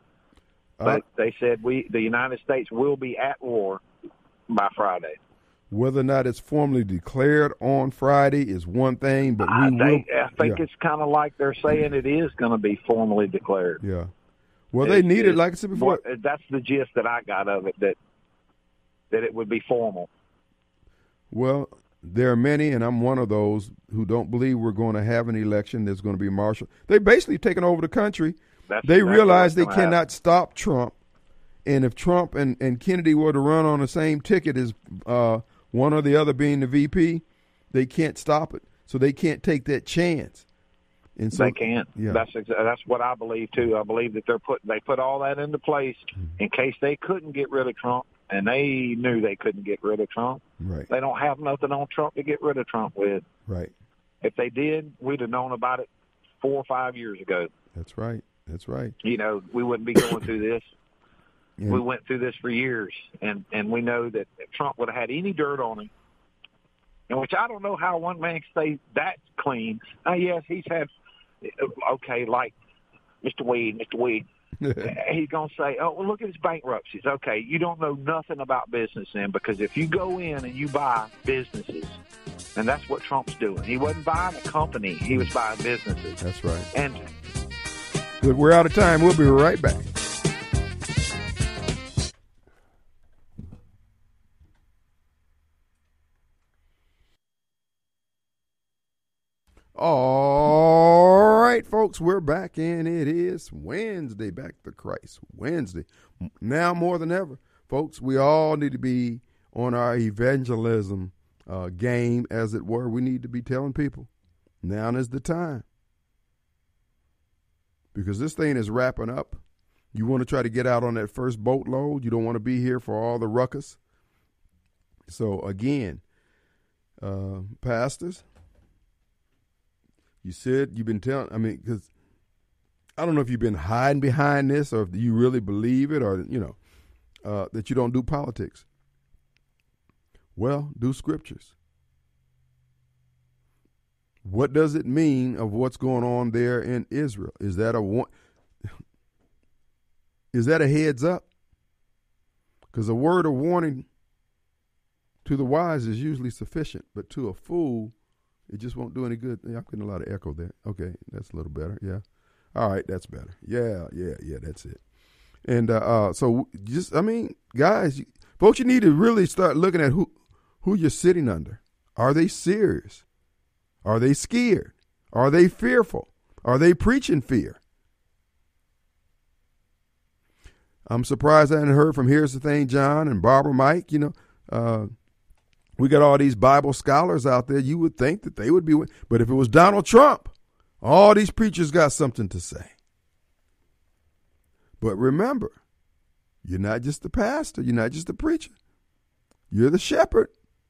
Speaker 5: Uh, but they said we, the United States will be at war by Friday.
Speaker 2: Whether or not it's formally declared on Friday is one thing, but we
Speaker 5: I
Speaker 2: will.
Speaker 5: think, I think
Speaker 2: yeah.
Speaker 5: it's kind of like they're saying it is going to be formally declared.
Speaker 2: Yeah. Well, they need it,
Speaker 5: It's-
Speaker 2: like I said before.
Speaker 5: what- That's the gist that I got of it, that that it would be formal.
Speaker 2: Well, there are many, and I'm one of those who don't believe we're going to have an election that's going to be martial. They basically taken over the country.
Speaker 5: That's
Speaker 2: They
Speaker 5: exactly
Speaker 2: realize they
Speaker 5: what's gonna
Speaker 2: cannot
Speaker 5: happen.
Speaker 2: stop Trump. And if Trump and, and Kennedy were to run on the same ticket as uh, one or the other being the V P, they can't stop it. So they can't take that chance. And so
Speaker 5: They can't.
Speaker 2: Yeah.
Speaker 5: That's exa- that's what I believe too. I believe that they're put they put all that into place in case they couldn't get rid of Trump, and they knew they couldn't get rid of Trump.
Speaker 2: Right.
Speaker 5: They don't have nothing on Trump to get rid of Trump with.
Speaker 2: Right.
Speaker 5: If they did, we'd have known about it four or five years ago.
Speaker 2: That's right. That's right.
Speaker 5: You know, we wouldn't be going through this.
Speaker 2: And,
Speaker 5: We went through this for years, and, and we know that if Trump would have had any dirt on him, and which I don't know how one man can stay that clean. Uh, yes, he's had, okay, like Mister Weed, Mister Weed, he's going to say, oh, well, look at his bankruptcies. Okay, you don't know nothing about business then, because if you go in and you buy businesses, and that's what Trump's doing. He wasn't buying a company. He was buying businesses.
Speaker 2: That's right.
Speaker 5: And
Speaker 2: But we're out of time. We'll be right back. All right, folks, we're back, and it is Wednesday. Back to Christ Wednesday. Now more than ever, folks, we all need to be on our evangelism uh, game, as it were. We need to be telling people, now is the time. Because this thing is wrapping up. You want to try to get out on that first boatload. You don't want to be here for all the ruckus. So, again, uh, pastors, you said you've been telling, I mean, because I don't know if you've been hiding behind this or if you really believe it or, you know, uh, that you don't do politics. Well, do scriptures. What does it mean of what's going on there in Israel? Is that a one? Is that a heads up? Because a word of warning to the wise is usually sufficient, but to a fool, it just won't do any good. Yeah, I'm getting a lot of echo there. Okay, that's a little better. Yeah. All right, that's better. Yeah, yeah, yeah, that's it. And uh, uh, so just, I mean, guys, you, folks, you need to really start looking at who, who you're sitting under. Are they serious? Are they scared? Are they fearful? Are they preaching fear? I'm surprised I hadn't heard from Here's the Thing, John and Barbara Mike. You know, uh, we got all these Bible scholars out there. You would think that they would be. But if it was Donald Trump, all these preachers got something to say. But remember, you're not just the pastor. You're not just the preacher. You're the shepherd.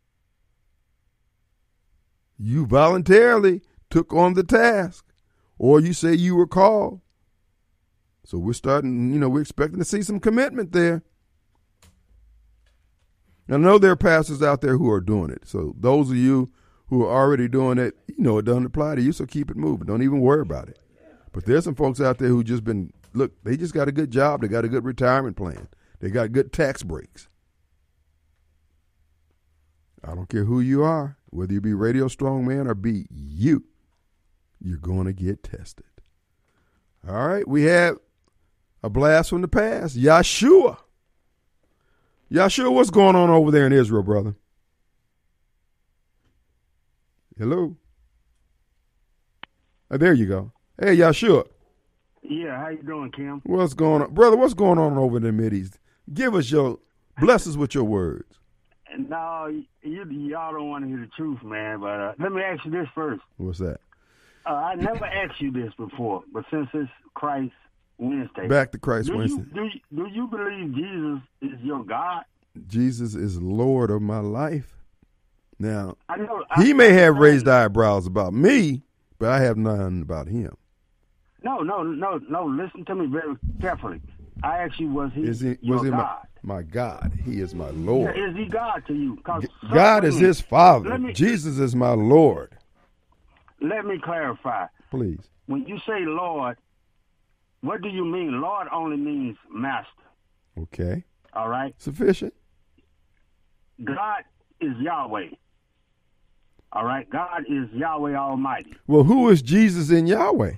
Speaker 2: You voluntarily took on the task, or you say you were called. So we're starting, you know, we're expecting to see some commitment there. And I know there are pastors out there who are doing it. So those of you who are already doing it, you know, it doesn't apply to you, so keep it moving. Don't even worry about it. But there's some folks out there who just been, look, they just got a good job. They got a good retirement plan. They got good tax breaks. I don't care who you are, whether you be Radio Strong Man or be you, you're going to get tested. All right, we have a blast from the past. Yeshua. Yeshua, what's going on over there in Israel, brother? Hello? Oh, there you go. Hey, Yeshua.
Speaker 6: Yeah, how you doing, Kim?
Speaker 2: What's going on? Brother, what's going on over in the Mideast? Give us your, bless us with your words.
Speaker 6: No, you, y'all don't want to hear the truth, man, but uh, let me ask you this first.
Speaker 2: What's that?
Speaker 6: Uh, I never asked you this before, but since it's Christ Wednesday.
Speaker 2: Back to Christ
Speaker 6: do
Speaker 2: Wednesday.
Speaker 6: You, do, you, do you believe Jesus is your God?
Speaker 2: Jesus is Lord of my life. Now,
Speaker 6: I know,
Speaker 2: he
Speaker 6: I,
Speaker 2: may have
Speaker 6: I,
Speaker 2: raised eyebrows about me, but I have none about him.
Speaker 6: No, no, no, no. Listen to me very carefully. I asked you, was he,
Speaker 2: Is he
Speaker 6: your
Speaker 2: was he
Speaker 6: God?
Speaker 2: my, my God? He is my Lord.
Speaker 6: Yeah, is he God to you? 'Cause
Speaker 2: God is his Father.
Speaker 6: Let me-
Speaker 2: Jesus is my Lord.
Speaker 6: Let me clarify.
Speaker 2: Please.
Speaker 6: When you say Lord, what do you mean? Lord only means master.
Speaker 2: Okay.
Speaker 6: All right?
Speaker 2: Sufficient.
Speaker 6: God is Yahweh. All right? God is Yahweh Almighty.
Speaker 2: Well, who is Jesus in Yahweh?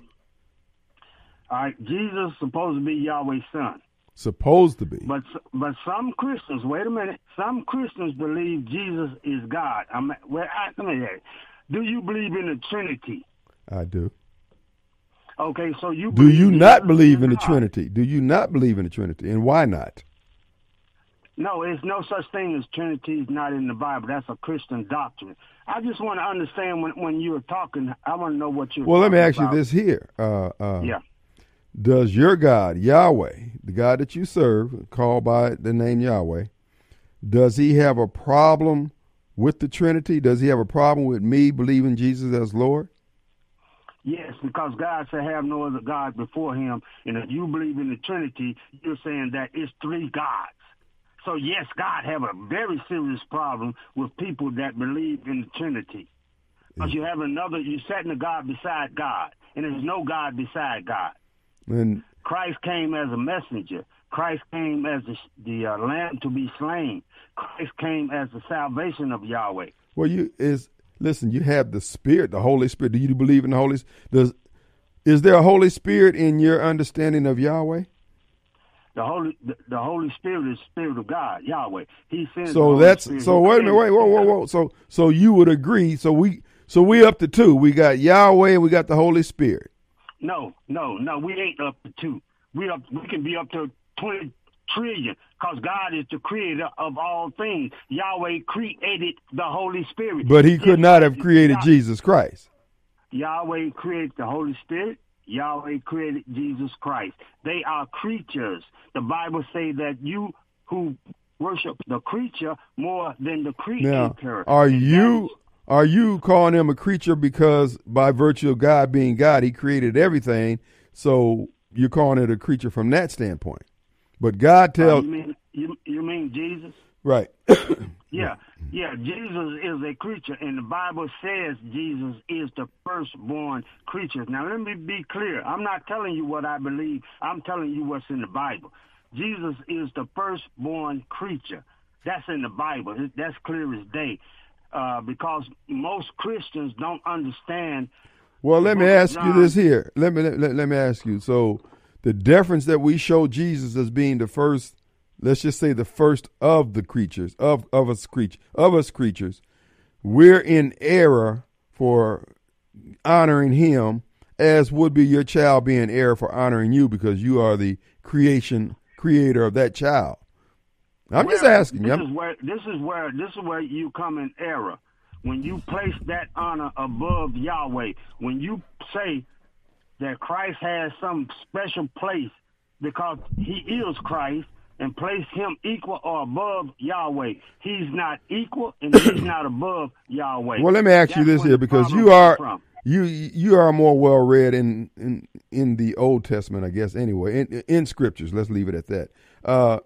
Speaker 6: All right? Jesus is supposed to be Yahweh's son.
Speaker 2: Supposed to be.
Speaker 6: But but some Christians, wait a minute, some Christians believe Jesus is God. I'm, well, I, let me ask, do you believe in the Trinity?
Speaker 2: I do.
Speaker 6: Okay, so you
Speaker 2: Do you
Speaker 6: Jesus
Speaker 2: not believe
Speaker 6: is
Speaker 2: in the
Speaker 6: God.
Speaker 2: Trinity? Do you not believe in the Trinity? And why not?
Speaker 6: No, it's no such thing as Trinity is not in the Bible. That's a Christian doctrine. I just want to understand when when you were talking, I want to know what you're
Speaker 2: Well, let me ask
Speaker 6: talking
Speaker 2: you this here. Uh, uh,
Speaker 6: Yeah.
Speaker 2: Does your God, Yahweh, the God that you serve, called by the name Yahweh, does he have a problem with the Trinity? Does he have a problem with me believing Jesus as Lord?
Speaker 6: Yes, because God said have no other God before him. And if you believe in the Trinity, you're saying that it's three gods. So, yes, God have a very serious problem with people that believe in the Trinity. Because you have another, you're setting a God beside God. And there's no God beside God.
Speaker 2: And
Speaker 6: Christ came as a messenger. Christ came as the, the uh, lamb to be slain. Christ came as the salvation of Yahweh.
Speaker 2: well, you is listen. You have the Spirit, the Holy Spirit. Do you believe in the Holy? Does is there a Holy Spirit in your understanding of Yahweh?
Speaker 6: The Holy, the, the Holy Spirit is the Spirit of God, Yahweh. He sends. the
Speaker 2: So
Speaker 6: Holy
Speaker 2: that's
Speaker 6: Spirit.
Speaker 2: so.
Speaker 6: He
Speaker 2: Wait a minute.
Speaker 6: sends-
Speaker 2: Wait. Whoa. Whoa. Whoa. So so so you would agree? So we so we up to two. We got Yahweh and we got the Holy Spirit.
Speaker 6: No, no, no. We ain't up to two. We up. We can be up to twenty trillion because God is the creator of all things. Yahweh created the Holy Spirit.
Speaker 2: But he could not have created
Speaker 6: Yah-
Speaker 2: Jesus Christ.
Speaker 6: Yahweh created the Holy Spirit. Yahweh created Jesus Christ. They are creatures. The Bible say that you who worship the creature more than the creator.
Speaker 2: Now, are
Speaker 6: And
Speaker 2: you
Speaker 6: that is-
Speaker 2: are you calling him a creature because by virtue of God being God, he created everything? So you're calling it a creature from that standpoint. But God
Speaker 6: uh,
Speaker 2: tells
Speaker 6: you mean you, you mean Jesus?
Speaker 2: right.
Speaker 6: Yeah, yeah. Jesus is a creature, and the Bible says Jesus is the firstborn creature. Now, let me be clear. I'm not telling you what I believe. I'm telling you what's in the Bible. Jesus is the firstborn creature. That's in the Bible. That's clear as day. Uh, because most Christians don't understand.
Speaker 2: Well, let me
Speaker 6: book of
Speaker 2: ask you
Speaker 6: John.
Speaker 2: this here. Let me let, let me ask you. So the deference that we show Jesus as being the first, let's just say the first of the creatures, of, of us creature of us creatures, we're in error for honoring him, as would be your child be in error for honoring you because you are the creation creator of that child. I'm just
Speaker 6: Well,
Speaker 2: asking you.
Speaker 6: This
Speaker 2: I'm-
Speaker 6: is where this is where this is where you come in error. When you place that honor above Yahweh, when you say that Christ has some special place because he is Christ and place him equal or above Yahweh, he's not equal and he's not above Yahweh.
Speaker 2: Well, let me ask you
Speaker 6: That's
Speaker 2: this
Speaker 6: where
Speaker 2: here
Speaker 6: the
Speaker 2: because
Speaker 6: problem
Speaker 2: you are
Speaker 6: comes from.
Speaker 2: you you are more well read in, in in the Old Testament, I guess. Anyway, in, in scriptures, let's leave it at that. Uh,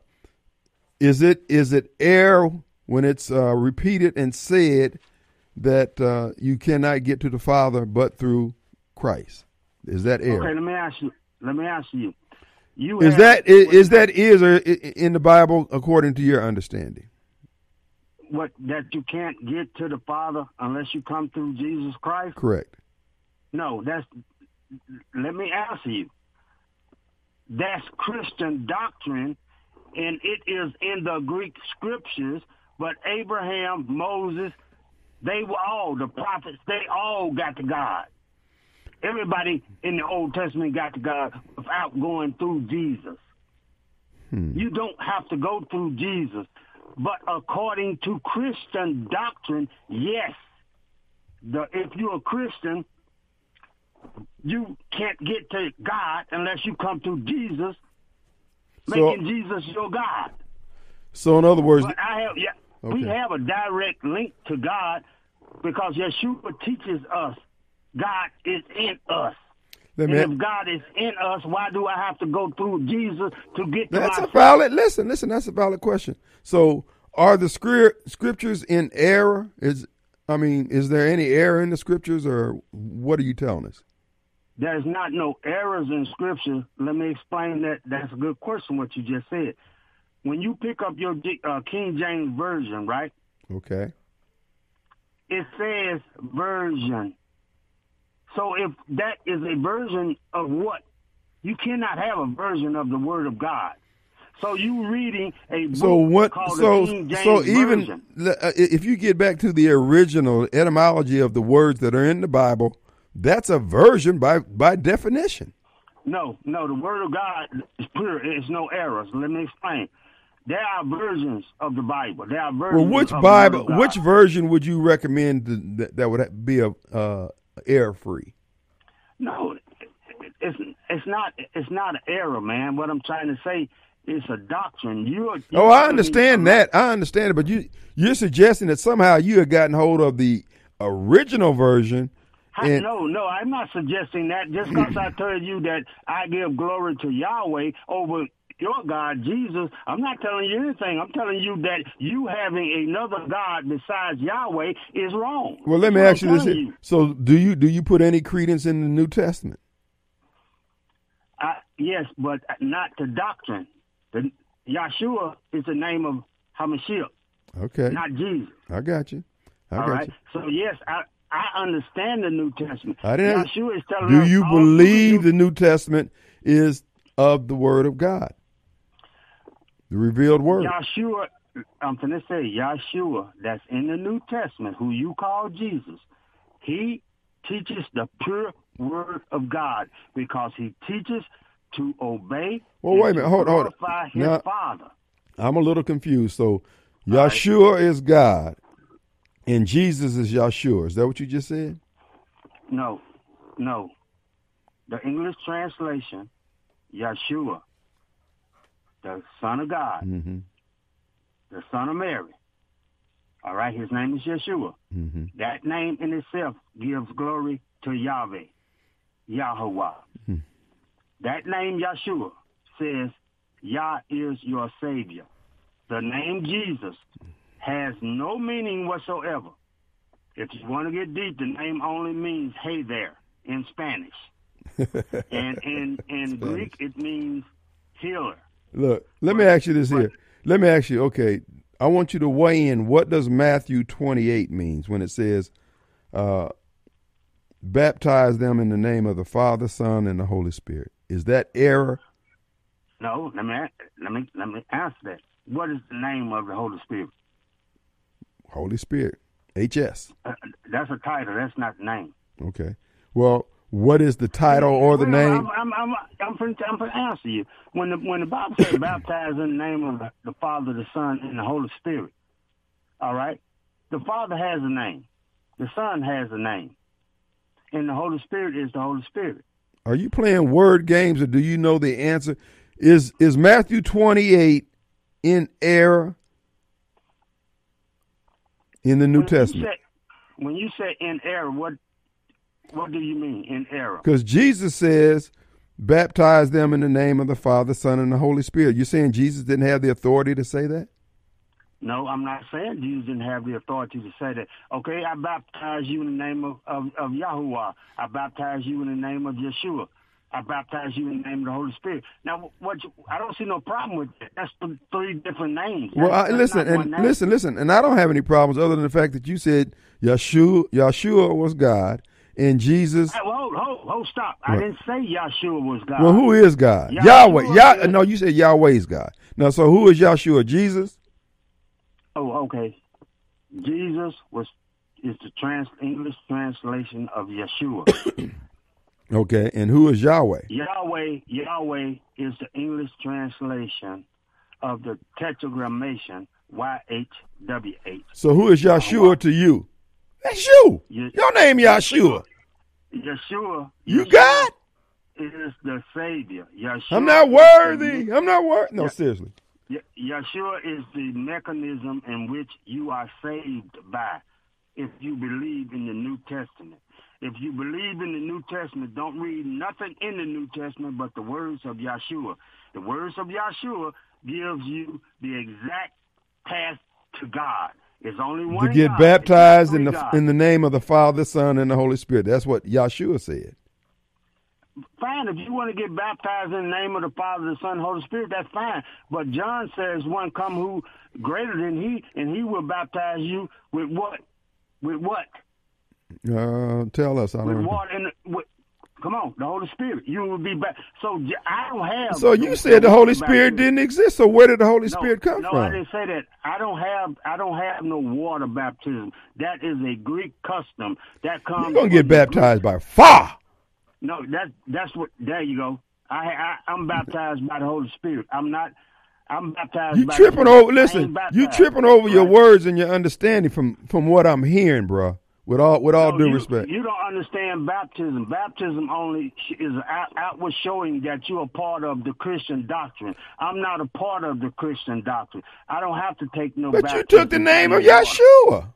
Speaker 2: is it is it error when it's uh, repeated and said that uh, you cannot get to the Father but through Christ? Is that error?
Speaker 6: Okay, let me ask you. Let me ask you. You
Speaker 2: Is
Speaker 6: have-
Speaker 2: that is, is that is or i- in the Bible according to your understanding?
Speaker 6: what that you can't get to the Father unless you come through Jesus Christ?
Speaker 2: Correct.
Speaker 6: No, that's. Let me answer you. That's Christian doctrine, and it is in the Greek scriptures. But Abraham, Moses, they were all the prophets. They all got to God. Everybody in the Old Testament got to God without going through Jesus.
Speaker 2: Hmm.
Speaker 6: You don't have to go through Jesus. But according to Christian doctrine, yes. The, if you're a Christian, you can't get to God unless you come through Jesus,
Speaker 2: So-
Speaker 6: making Jesus your God.
Speaker 2: So in other words,
Speaker 6: But I have, yeah, we
Speaker 2: Okay.
Speaker 6: have a direct link to God because Yeshua teaches us God is in us.
Speaker 2: let
Speaker 6: And
Speaker 2: me,
Speaker 6: if God is in us, why do I have to go through Jesus to get to
Speaker 2: that's a
Speaker 6: myself?
Speaker 2: valid. Listen, listen. That's a valid question. So, are the script, scriptures in error? Is I mean, is there any error in the scriptures, or what are you telling us?
Speaker 6: There's not no errors in Scripture. Let me explain that. That's a good question, what you just said. When you pick up your uh, King James Version, right,
Speaker 2: Okay.
Speaker 6: It says version. So if that is a version of what? You cannot have a version of the Word of God. So you reading a book
Speaker 2: So what?
Speaker 6: called
Speaker 2: So
Speaker 6: the King James
Speaker 2: so even
Speaker 6: Version.
Speaker 2: uh, if you get back to the original etymology of the words that are in the Bible, that's a version by by definition.
Speaker 6: No, no, the Word of God is pure. It's no errors. Let me explain. There are versions of the Bible. There are versions
Speaker 2: Well, which
Speaker 6: of
Speaker 2: Bible,
Speaker 6: the Word of
Speaker 2: which
Speaker 6: God.
Speaker 2: version would you recommend th- that, that would be a uh, error free?
Speaker 6: No, it's it's not it's not an error, man. What I'm trying to say is a doctrine. You. are-
Speaker 2: Oh, I understand that. I understand it, but you you're suggesting that somehow you have gotten hold of the original version.
Speaker 6: I,
Speaker 2: And,
Speaker 6: no, no, I'm not suggesting that. Just because I told you that I give glory to Yahweh over your God, Jesus, I'm not telling you anything. I'm telling you that you having another God besides Yahweh is wrong.
Speaker 2: well, let me
Speaker 6: That's
Speaker 2: ask you
Speaker 6: what
Speaker 2: this:
Speaker 6: I'm
Speaker 2: here.
Speaker 6: telling you.
Speaker 2: So, do you do you put any credence in the New Testament?
Speaker 6: I, yes, but not the doctrine. The, Yahshua is the name of Hamashiach,
Speaker 2: Okay,
Speaker 6: not Jesus.
Speaker 2: I got you. I
Speaker 6: All
Speaker 2: got
Speaker 6: right.
Speaker 2: you.
Speaker 6: So yes, I I understand the New Testament.
Speaker 2: I didn't.
Speaker 6: Yahshua is telling
Speaker 2: Do
Speaker 6: us
Speaker 2: you
Speaker 6: all through
Speaker 2: believe
Speaker 6: the
Speaker 2: the New Testament is of the Word of God, the revealed Word?
Speaker 6: Yahshua, I'm going to say Yahshua, that's in the New Testament, who you call Jesus, he teaches the pure Word of God because he teaches to obey
Speaker 2: Well,
Speaker 6: and
Speaker 2: wait a minute.
Speaker 6: to
Speaker 2: Hold- hold on.
Speaker 6: glorify his
Speaker 2: Now-
Speaker 6: Father.
Speaker 2: I'm a little confused. So, Yahshua is God, and Jesus is Yahshua. Is that what you just said?
Speaker 6: No, no. The English translation, Yahshua, the Son of God,
Speaker 2: Mm-hmm.
Speaker 6: the Son of Mary. All right, his name is Yeshua.
Speaker 2: Mm-hmm.
Speaker 6: That name in itself gives glory to Yahweh, Yahweh.
Speaker 2: Hmm.
Speaker 6: That name, Yeshua, says, Yah is your Savior. The name Jesus has no meaning whatsoever. If you want to get deep, the name only means hey there in Spanish. and in, in Greek, it means healer.
Speaker 2: Look, let me ask you this here. Let me ask you, okay, I want you to weigh in. What does Matthew twenty-eight means when it says, uh, baptize them in the name of the Father, Son, and the Holy Spirit? Is that error?
Speaker 6: No, let me let me let me answer that. What is the name of the Holy Spirit?
Speaker 2: Holy Spirit, H S.
Speaker 6: Uh, that's a title. That's not the name.
Speaker 2: Okay. Well, what is the title or the
Speaker 6: Well,
Speaker 2: name?
Speaker 6: I'm I'm I'm I'm going to answer you. When the when the Bible says baptize in the name of the, the Father, the Son, and the Holy Spirit. All right, the Father has a name, the Son has a name, and the Holy Spirit is the Holy Spirit.
Speaker 2: Are you playing word games, or do you know the answer? Is is Matthew twenty-eight in error in the New
Speaker 6: When you
Speaker 2: Testament?
Speaker 6: say- When you say in error, what what do you mean in error?
Speaker 2: Because Jesus says, baptize them in the name of the Father, Son, and the Holy Spirit. You're saying Jesus didn't have the authority to say that?
Speaker 6: No, I'm not saying Jesus didn't have the authority to say that. Okay, I baptize you in the name of, of, of Yahuwah. I baptize you in the name of Yeshua. I baptize you in the name of the Holy Spirit. Now, what you, I don't see no problem with that. That's th- three different names.
Speaker 2: Well, I,
Speaker 6: That's- that's
Speaker 2: listen,
Speaker 6: not one
Speaker 2: and
Speaker 6: name.
Speaker 2: listen, listen, and I don't have any problems other than the fact that you said Yeshua, Yeshua was God, and Jesus.
Speaker 6: Hey, well, hold, hold, hold, stop. I
Speaker 2: What?
Speaker 6: didn't say Yahshua was God.
Speaker 2: Well, who is God?
Speaker 6: Yahshua
Speaker 2: Yahweh. Yah.
Speaker 6: is-
Speaker 2: No, you said Yahweh's God. Now, so who is Yahshua? Jesus.
Speaker 6: Oh, okay. Jesus was is the trans English translation of Yeshua.
Speaker 2: Okay, and who is Yahweh?
Speaker 6: Yahweh, Yahweh is the English translation of the tetragrammation Y H W H.
Speaker 2: So who is Yahshua to you? That's you.
Speaker 6: Ye-
Speaker 2: Your name Yahshua.
Speaker 6: Yeshua.
Speaker 2: You
Speaker 6: Yeshua
Speaker 2: God?
Speaker 6: is the Savior. Yeshua
Speaker 2: I'm not
Speaker 6: is
Speaker 2: worthy.
Speaker 6: the-
Speaker 2: I'm not worthy. No,
Speaker 6: Yeah.
Speaker 2: seriously.
Speaker 6: Ye- Yeshua is the mechanism in which you are saved by if you believe in the New Testament. If you believe in the New Testament, don't read nothing in the New Testament but the words of Yeshua. The words of Yeshua gives you the exact path to God. It's only one
Speaker 2: To get
Speaker 6: God.
Speaker 2: baptized in
Speaker 6: It's
Speaker 2: the
Speaker 6: not three
Speaker 2: in the name of the Father, Son, and the Holy Spirit. That's what Yahshua said.
Speaker 6: gods. Fine, if you want to get baptized in the name of the Father, the Son, and Holy Spirit, that's fine. But John says one come who greater than he, and he will baptize you with what? With what?
Speaker 2: Uh, tell us. I
Speaker 6: With
Speaker 2: don't know.
Speaker 6: water and with, come on, the Holy Spirit. You will be back. So j- I don't have.
Speaker 2: So you said the Holy Spirit
Speaker 6: baptism.
Speaker 2: didn't exist. So where did the Holy
Speaker 6: No,
Speaker 2: Spirit come
Speaker 6: no,
Speaker 2: from?
Speaker 6: I didn't say that. I don't have. I don't have no water baptism. That is a Greek custom. That comes.
Speaker 2: You're gonna get
Speaker 6: from the
Speaker 2: baptized by fire.
Speaker 6: No, that that's what. There you go. I, I I'm baptized by the Holy Spirit. I'm not. I'm baptized.
Speaker 2: You
Speaker 6: by
Speaker 2: tripping
Speaker 6: the,
Speaker 2: over?
Speaker 6: I
Speaker 2: Listen,
Speaker 6: ain't baptized,
Speaker 2: you tripping over your
Speaker 6: right?
Speaker 2: words and your understanding from from what I'm hearing, bro. With all with all
Speaker 6: No,
Speaker 2: due
Speaker 6: you,
Speaker 2: respect.
Speaker 6: You don't understand baptism. Baptism only sh- is an out, outward showing that you're a part of the Christian doctrine. I'm not a part of the Christian doctrine. I don't have to take no.
Speaker 2: But you
Speaker 6: baptism
Speaker 2: took the name of
Speaker 6: in the water.
Speaker 2: Yeshua.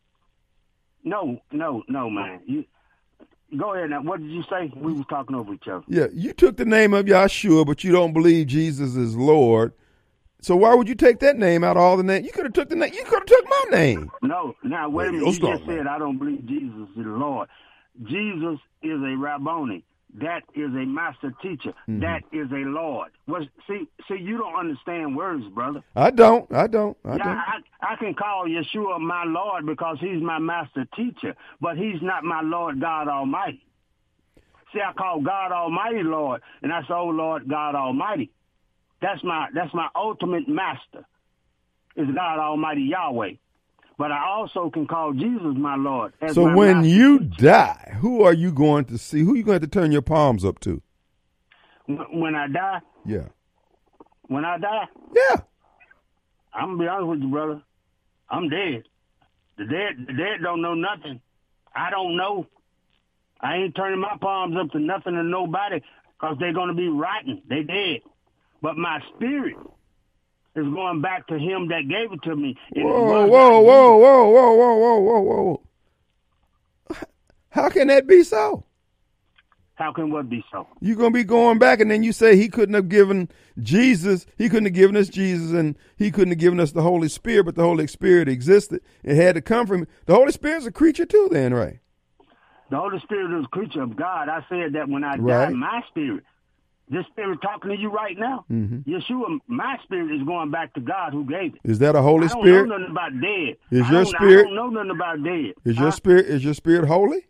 Speaker 6: No, no, no, man. You go ahead now. What did you say? We was talking over each other.
Speaker 2: Yeah, you took the name of Yeshua, but you don't believe Jesus is Lord. So why would you take that name out of all the names? You could have took the name. You could have took my name.
Speaker 6: No, now wait a
Speaker 2: Well,
Speaker 6: minute.
Speaker 2: you'll
Speaker 6: You
Speaker 2: start,
Speaker 6: just
Speaker 2: man.
Speaker 6: said I don't believe Jesus is the Lord. Jesus is a Rabboni. That is a master teacher.
Speaker 2: Mm-hmm.
Speaker 6: That is a Lord. Well, see, see, you don't understand words, brother.
Speaker 2: I don't. I don't. I
Speaker 6: Yeah,
Speaker 2: don't.
Speaker 6: I, I can call Yeshua my Lord because he's my master teacher, but he's not my Lord God Almighty. See, I call God Almighty Lord, and I say, oh, Lord God Almighty. That's my that's my ultimate master, is God Almighty Yahweh. But I also can call Jesus my Lord. As
Speaker 2: So
Speaker 6: my
Speaker 2: when
Speaker 6: master
Speaker 2: you
Speaker 6: teacher.
Speaker 2: die, who are you going to see? Who are you going to turn your palms up to?
Speaker 6: When when I die,
Speaker 2: Yeah.
Speaker 6: when I die,
Speaker 2: Yeah.
Speaker 6: I'm gonna be honest with you, brother. I'm dead. The dead, the dead don't know nothing. I don't know. I ain't turning my palms up to nothing or nobody because they're gonna be rotten. They dead. But my spirit is going back to him that gave it to me. And it
Speaker 2: Whoa,
Speaker 6: was
Speaker 2: whoa,
Speaker 6: not
Speaker 2: whoa, whoa, whoa, whoa, whoa, whoa, whoa. How can that be so?
Speaker 6: How can what be so?
Speaker 2: You're going to be going back, and then you say he couldn't have given Jesus, he couldn't have given us Jesus, and he couldn't have given us the Holy Spirit, but the Holy Spirit existed. It had to come from him. The Holy Spirit's a creature too then, right?
Speaker 6: The Holy Spirit is a creature of God. I said that when I
Speaker 2: Right.
Speaker 6: die, my spirit, this spirit talking to you right now,
Speaker 2: Mm-hmm.
Speaker 6: Yeshua, my spirit is going back to God who gave it.
Speaker 2: Is that a Holy
Speaker 6: I don't
Speaker 2: Spirit?
Speaker 6: know nothing about dead.
Speaker 2: Is
Speaker 6: I
Speaker 2: your
Speaker 6: don't-
Speaker 2: spirit-
Speaker 6: I don't know nothing about dead.
Speaker 2: Is
Speaker 6: Huh?
Speaker 2: your spirit is your spirit holy?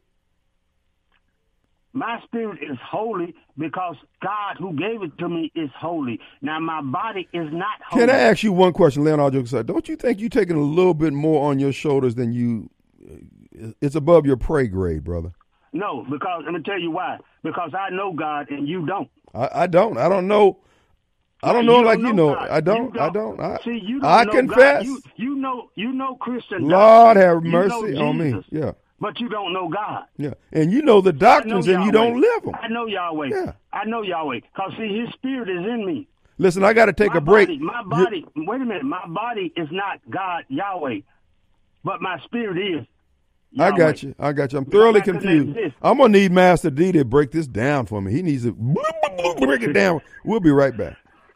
Speaker 6: My spirit is holy because God who gave it to me is holy. Now, my body is not holy.
Speaker 2: Can I ask you one question, Leonard jokes aside? Don't you think you're taking a little bit more on your shoulders than you? It's above your pay grade, brother.
Speaker 6: No, because let me tell you why. Because I know God and you don't.
Speaker 2: I, I don't. I don't know. I don't
Speaker 6: You
Speaker 2: know
Speaker 6: don't
Speaker 2: like you know.
Speaker 6: God.
Speaker 2: I don't.
Speaker 6: You
Speaker 2: I don't. I,
Speaker 6: See, you don't
Speaker 2: I
Speaker 6: know
Speaker 2: confess.
Speaker 6: God. You, you know, you know Christian.
Speaker 2: Lord
Speaker 6: doctrine.
Speaker 2: have
Speaker 6: You know
Speaker 2: mercy on me.
Speaker 6: Jesus,
Speaker 2: Yeah,
Speaker 6: But you don't know God.
Speaker 2: yeah. And you know the
Speaker 6: I know
Speaker 2: doctrines, and you
Speaker 6: Yahweh.
Speaker 2: don't live them.
Speaker 6: I know Yahweh.
Speaker 2: Yeah.
Speaker 6: I know Yahweh. Because, see, his spirit is in me.
Speaker 2: Listen, I got to take
Speaker 6: my
Speaker 2: a break.
Speaker 6: Body, my
Speaker 2: You-
Speaker 6: body, wait a minute. My body is not God, Yahweh. But my spirit is
Speaker 2: I
Speaker 6: Yahweh.
Speaker 2: got you. I got you. I'm thoroughly
Speaker 6: I couldn't
Speaker 2: confused.
Speaker 6: exist.
Speaker 2: I'm gonna need Master D to break this down for me. He needs to break it down. We'll be right back.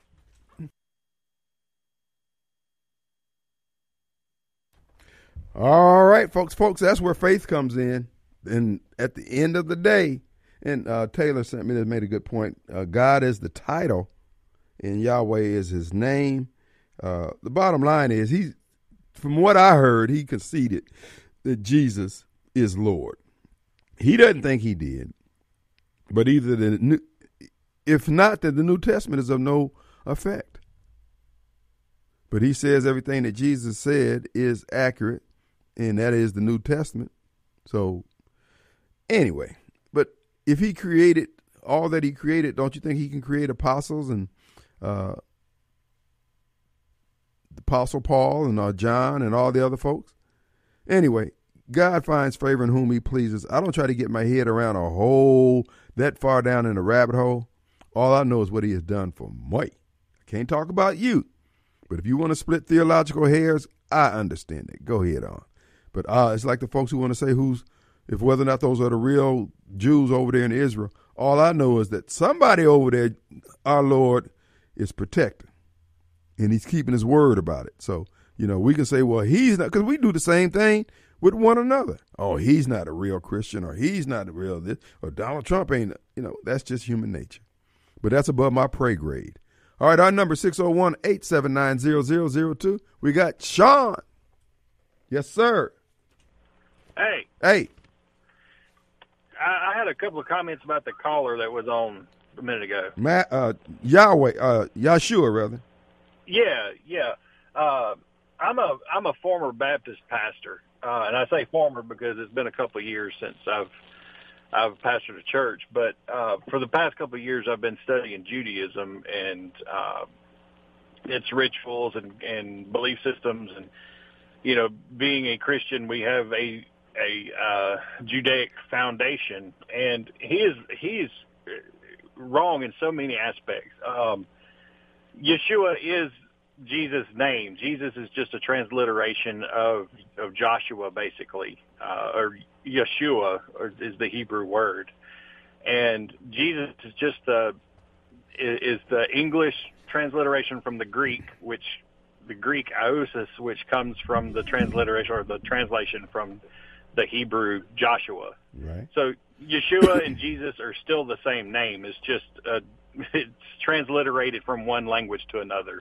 Speaker 2: All right, folks, folks, that's where faith comes in. And at the end of the day, and uh, Taylor sent me that made a good point. Uh, God is the title, and Yahweh is his name. Uh, the bottom line is, he's, from what I heard, he conceded that Jesus is Lord. He doesn't think he did, but either the new, if not, that the New Testament is of no effect. But he says everything that Jesus said is accurate, and that is the New Testament. So anyway, but if he created all that he created, don't you think he can create apostles and uh, the Apostle Paul and uh, John and all the other folks? Anyway, God finds favor in whom he pleases. I don't try to get my head around a hole that far down in the rabbit hole. All I know is what he has done for me. I can't talk about you, but if you want to split theological hairs, I understand it. Go ahead on. But uh, it's like the folks who want to say who's, if whether or not those are the real Jews over there in Israel. All I know is that somebody over there, our Lord, is protecting, and he's keeping his word about it. So, you know, we can say, well, he's not, because we do the same thing with one another. Oh, he's not a real Christian, or he's not a real this, or Donald Trump ain't, you know, that's just human nature. But that's above my pay grade. All right, our number six oh one, eight seven nine, zero zero zero two. We got Sean. Yes, sir.
Speaker 7: Hey,
Speaker 2: Hey,
Speaker 7: I, I had a couple of comments about the caller that was on a minute ago.
Speaker 2: Matt, uh, Yahweh, uh, Yahshua, rather.
Speaker 7: Yeah, yeah. Uh, I'm a I'm a former Baptist pastor, uh, and I say former because it's been a couple of years since I've I've pastored a church. But uh, for the past couple of years, I've been studying Judaism and uh, its rituals and, and belief systems. And you know, being a Christian, we have a a uh, Judaic foundation, and he is he is wrong in so many aspects. Um, Yeshua is Jesus' name. Jesus is just a transliteration of of Joshua, basically, uh, or Yeshua or is the Hebrew word, and Jesus is just the is the English transliteration from the Greek, which the Greek aosis, which comes from the transliteration or the translation from the Hebrew Joshua.
Speaker 2: Right.
Speaker 7: So Yeshua and Jesus are still the same name. It's just uh, it's transliterated from one language to another.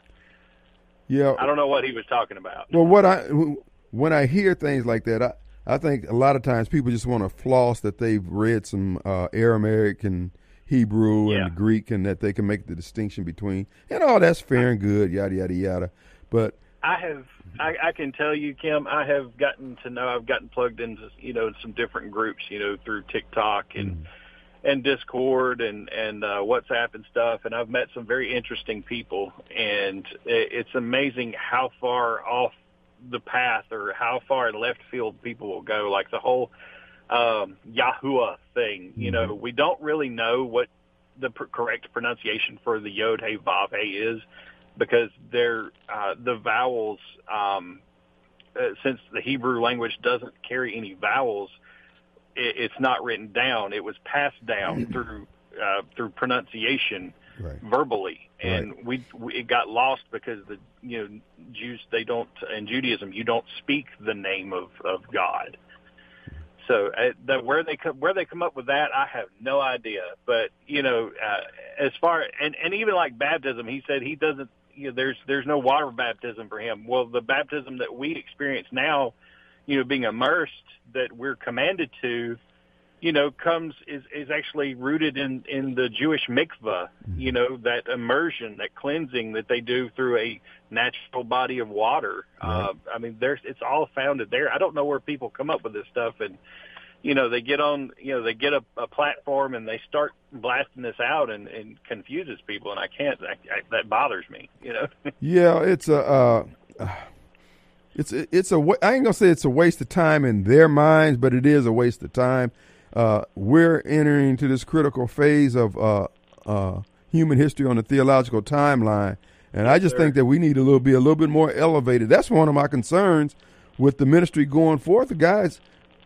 Speaker 2: Yeah.
Speaker 7: I don't know what he was talking about.
Speaker 2: Well, what I when I hear things like that, I, I think a lot of times people just want to floss that they've read some uh, Aramaic and Hebrew
Speaker 7: Yeah.
Speaker 2: and Greek, and that they can make the distinction between, and all that's fair and good, yada yada yada. But
Speaker 7: I have, I, I can tell you, Kim, I have gotten to know, I've gotten plugged into, you know, some different groups, you know, through TikTok and
Speaker 2: mm.
Speaker 7: and Discord and and uh, WhatsApp and stuff, and I've met some very interesting people, and it, it's amazing how far off the path or how far left field people will go. Like the whole um, Yahuwah thing, you
Speaker 2: Mm-hmm.
Speaker 7: know, we don't really know what the pr- correct pronunciation for the Yod Hey Vav Hey is, because they're uh, the vowels. Um, uh, since the Hebrew language doesn't carry any vowels, it, it's not written down. It was passed down through uh, through pronunciation
Speaker 2: Right.
Speaker 7: verbally, and
Speaker 2: Right.
Speaker 7: we, we it got lost because the you know Jews they don't in Judaism you don't speak the name of, of God. So uh, the, where they come where they come up with that, I have no idea. But you know, uh, as far and and even like baptism, he said he doesn't. You know, there's there's no water baptism for him. Well, the baptism that we experience now, you know, being immersed, that we're commanded to, you know, comes is is actually rooted in in the Jewish mikvah. You know, that immersion, that cleansing that they do through a natural body of water.
Speaker 2: Right.
Speaker 7: Uh, I mean, there's it's all founded there. I don't know where people come up with this stuff, and you know, they get on, you know, they get a, a platform and they start blasting this out, and, and confuses people, and I can't. I, I, that bothers me, you know.
Speaker 2: Yeah, it's a, uh, it's a, it's a. wa- I ain't gonna say it's a waste of time in their minds, but it is a waste of time. Uh, we're entering into this critical phase of uh, uh, human history on the theological timeline, and I just
Speaker 7: sir.
Speaker 2: think that we need a little be a little bit more elevated. That's one of my concerns with the ministry going forth, the guys.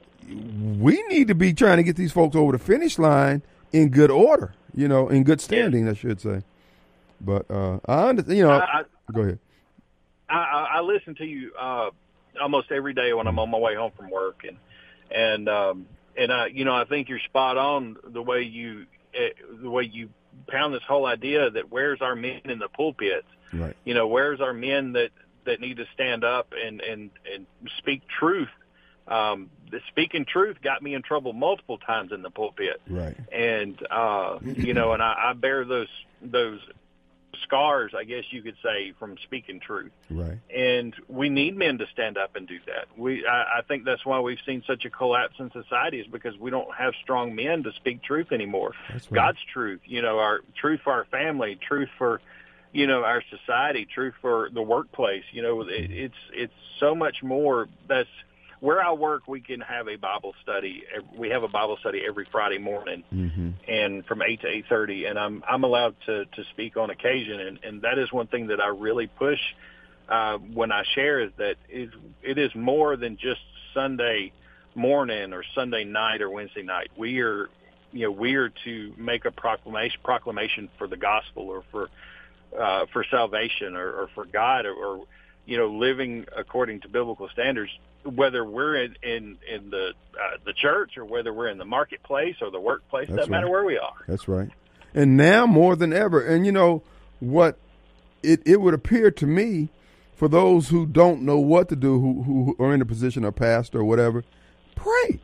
Speaker 2: We need to be trying to get these folks over the finish line in good order, you know, in good standing, I should say. But uh, I understand, you know.
Speaker 7: I, I,
Speaker 2: go ahead.
Speaker 7: I, I I listen to you uh, almost every day when I'm on my way home from work, and and um, and I, you know, I think you're spot on the way you uh, the way you pound this whole idea that where's our men in the pulpits?
Speaker 2: Right.
Speaker 7: You know, where's our men that, that need to stand up and and and speak truth? Um, the speaking truth got me in trouble multiple times in the pulpit,
Speaker 2: Right.
Speaker 7: and uh, you know, and I, I bear those those scars, I guess you could say, from speaking truth.
Speaker 2: Right.
Speaker 7: And we need men to stand up and do that. We, I, I think that's why we've seen such a collapse in society, is because we don't have strong men to speak truth anymore.
Speaker 2: That's right.
Speaker 7: God's truth, you know, our truth for our family, truth for, you know, our society, truth for the workplace. You know, it, it's it's so much more. That's where I work. We can have a Bible study. We have a Bible study every Friday morning,
Speaker 2: Mm-hmm.
Speaker 7: and from eight to eight thirty, and I'm I'm allowed to to speak on occasion, and and that is one thing that I really push uh, when I share, is that is it is more than just Sunday morning or Sunday night or Wednesday night. We are, you know, we are to make a proclamation proclamation for the gospel, or for uh, for salvation, or, or for God, or, or you know, living according to biblical standards. Whether we're in in, in the uh, the church, or whether we're in the marketplace or the workplace,
Speaker 2: That's
Speaker 7: doesn't matter
Speaker 2: right.
Speaker 7: where we are.
Speaker 2: That's right. And now more than ever, and you know what, it, it would appear to me, for those who don't know what to do, who, who are in the position of pastor or whatever, Pray.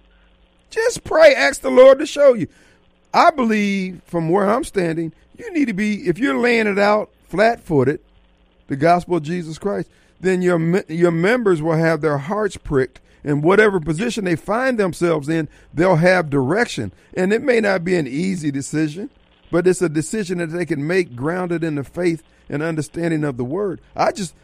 Speaker 2: Just pray. Ask the Lord to show you. I believe from where I'm standing, you need to be, if you're laying it out flat-footed, the gospel of Jesus Christ, then your your members will have their hearts pricked, and whatever position they find themselves in, they'll have direction. And it may not be an easy decision, but it's a decision that they can make grounded in the faith and understanding of the word. I just,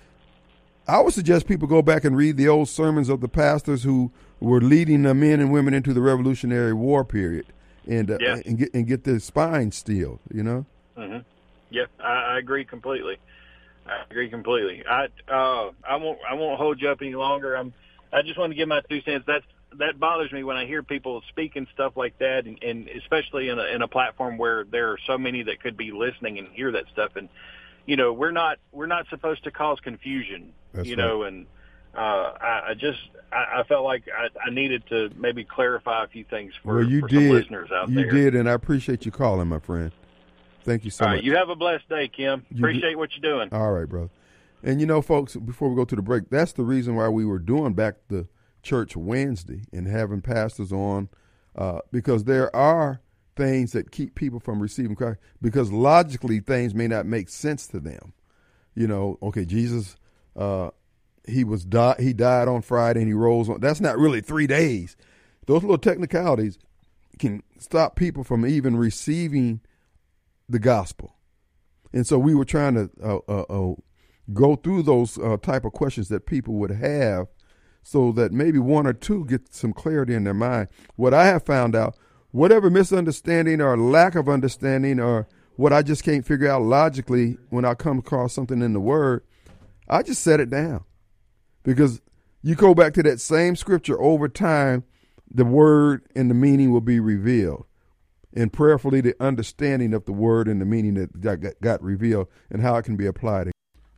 Speaker 2: I would suggest people go back and read the old sermons of the pastors who were leading the men and women into the Revolutionary War period, and uh,
Speaker 7: Yeah.
Speaker 2: and get and get their spine steeled. You know.
Speaker 7: Mm-hmm. Yeah, I, I agree completely. I agree completely. I uh, I won't I won't hold you up any longer. I'm I just want to give my two cents. That's that bothers me when I hear people speaking stuff like that, and, and especially in a in a platform where there are so many that could be listening and hear that stuff. And you know, we're not we're not supposed to cause confusion.
Speaker 2: That's
Speaker 7: you
Speaker 2: right.
Speaker 7: know, and uh, I, I just I, I felt like I, I needed to maybe clarify a few things for,
Speaker 2: well, you
Speaker 7: for
Speaker 2: did.
Speaker 7: some listeners out
Speaker 2: you
Speaker 7: there.
Speaker 2: did, and I appreciate you calling, my friend. Thank you so
Speaker 7: All right,
Speaker 2: much.
Speaker 7: you have a blessed day, Kim.
Speaker 2: You
Speaker 7: Appreciate
Speaker 2: do-
Speaker 7: what you're doing.
Speaker 2: All right, brother. And you know, folks, before we go to the break, that's the reason why we were doing Back to Church Wednesday and having pastors on, uh, because there are things that keep people from receiving Christ, because logically things may not make sense to them. You know, okay, Jesus, uh, he was di- he died on Friday and he rose on. That's not really three days. Those little technicalities can stop people from even receiving the gospel. And so we were trying to uh, uh, uh, go through those uh, type of questions that people would have, so that maybe one or two get some clarity in their mind. What I have found out, whatever misunderstanding or lack of understanding or what I just can't figure out logically when I come across something in the word, I just set it down. Because you go back to that same scripture over time, the word and the meaning will be revealed. And prayerfully, the understanding of the word and the meaning that got, got revealed and how it can be applied.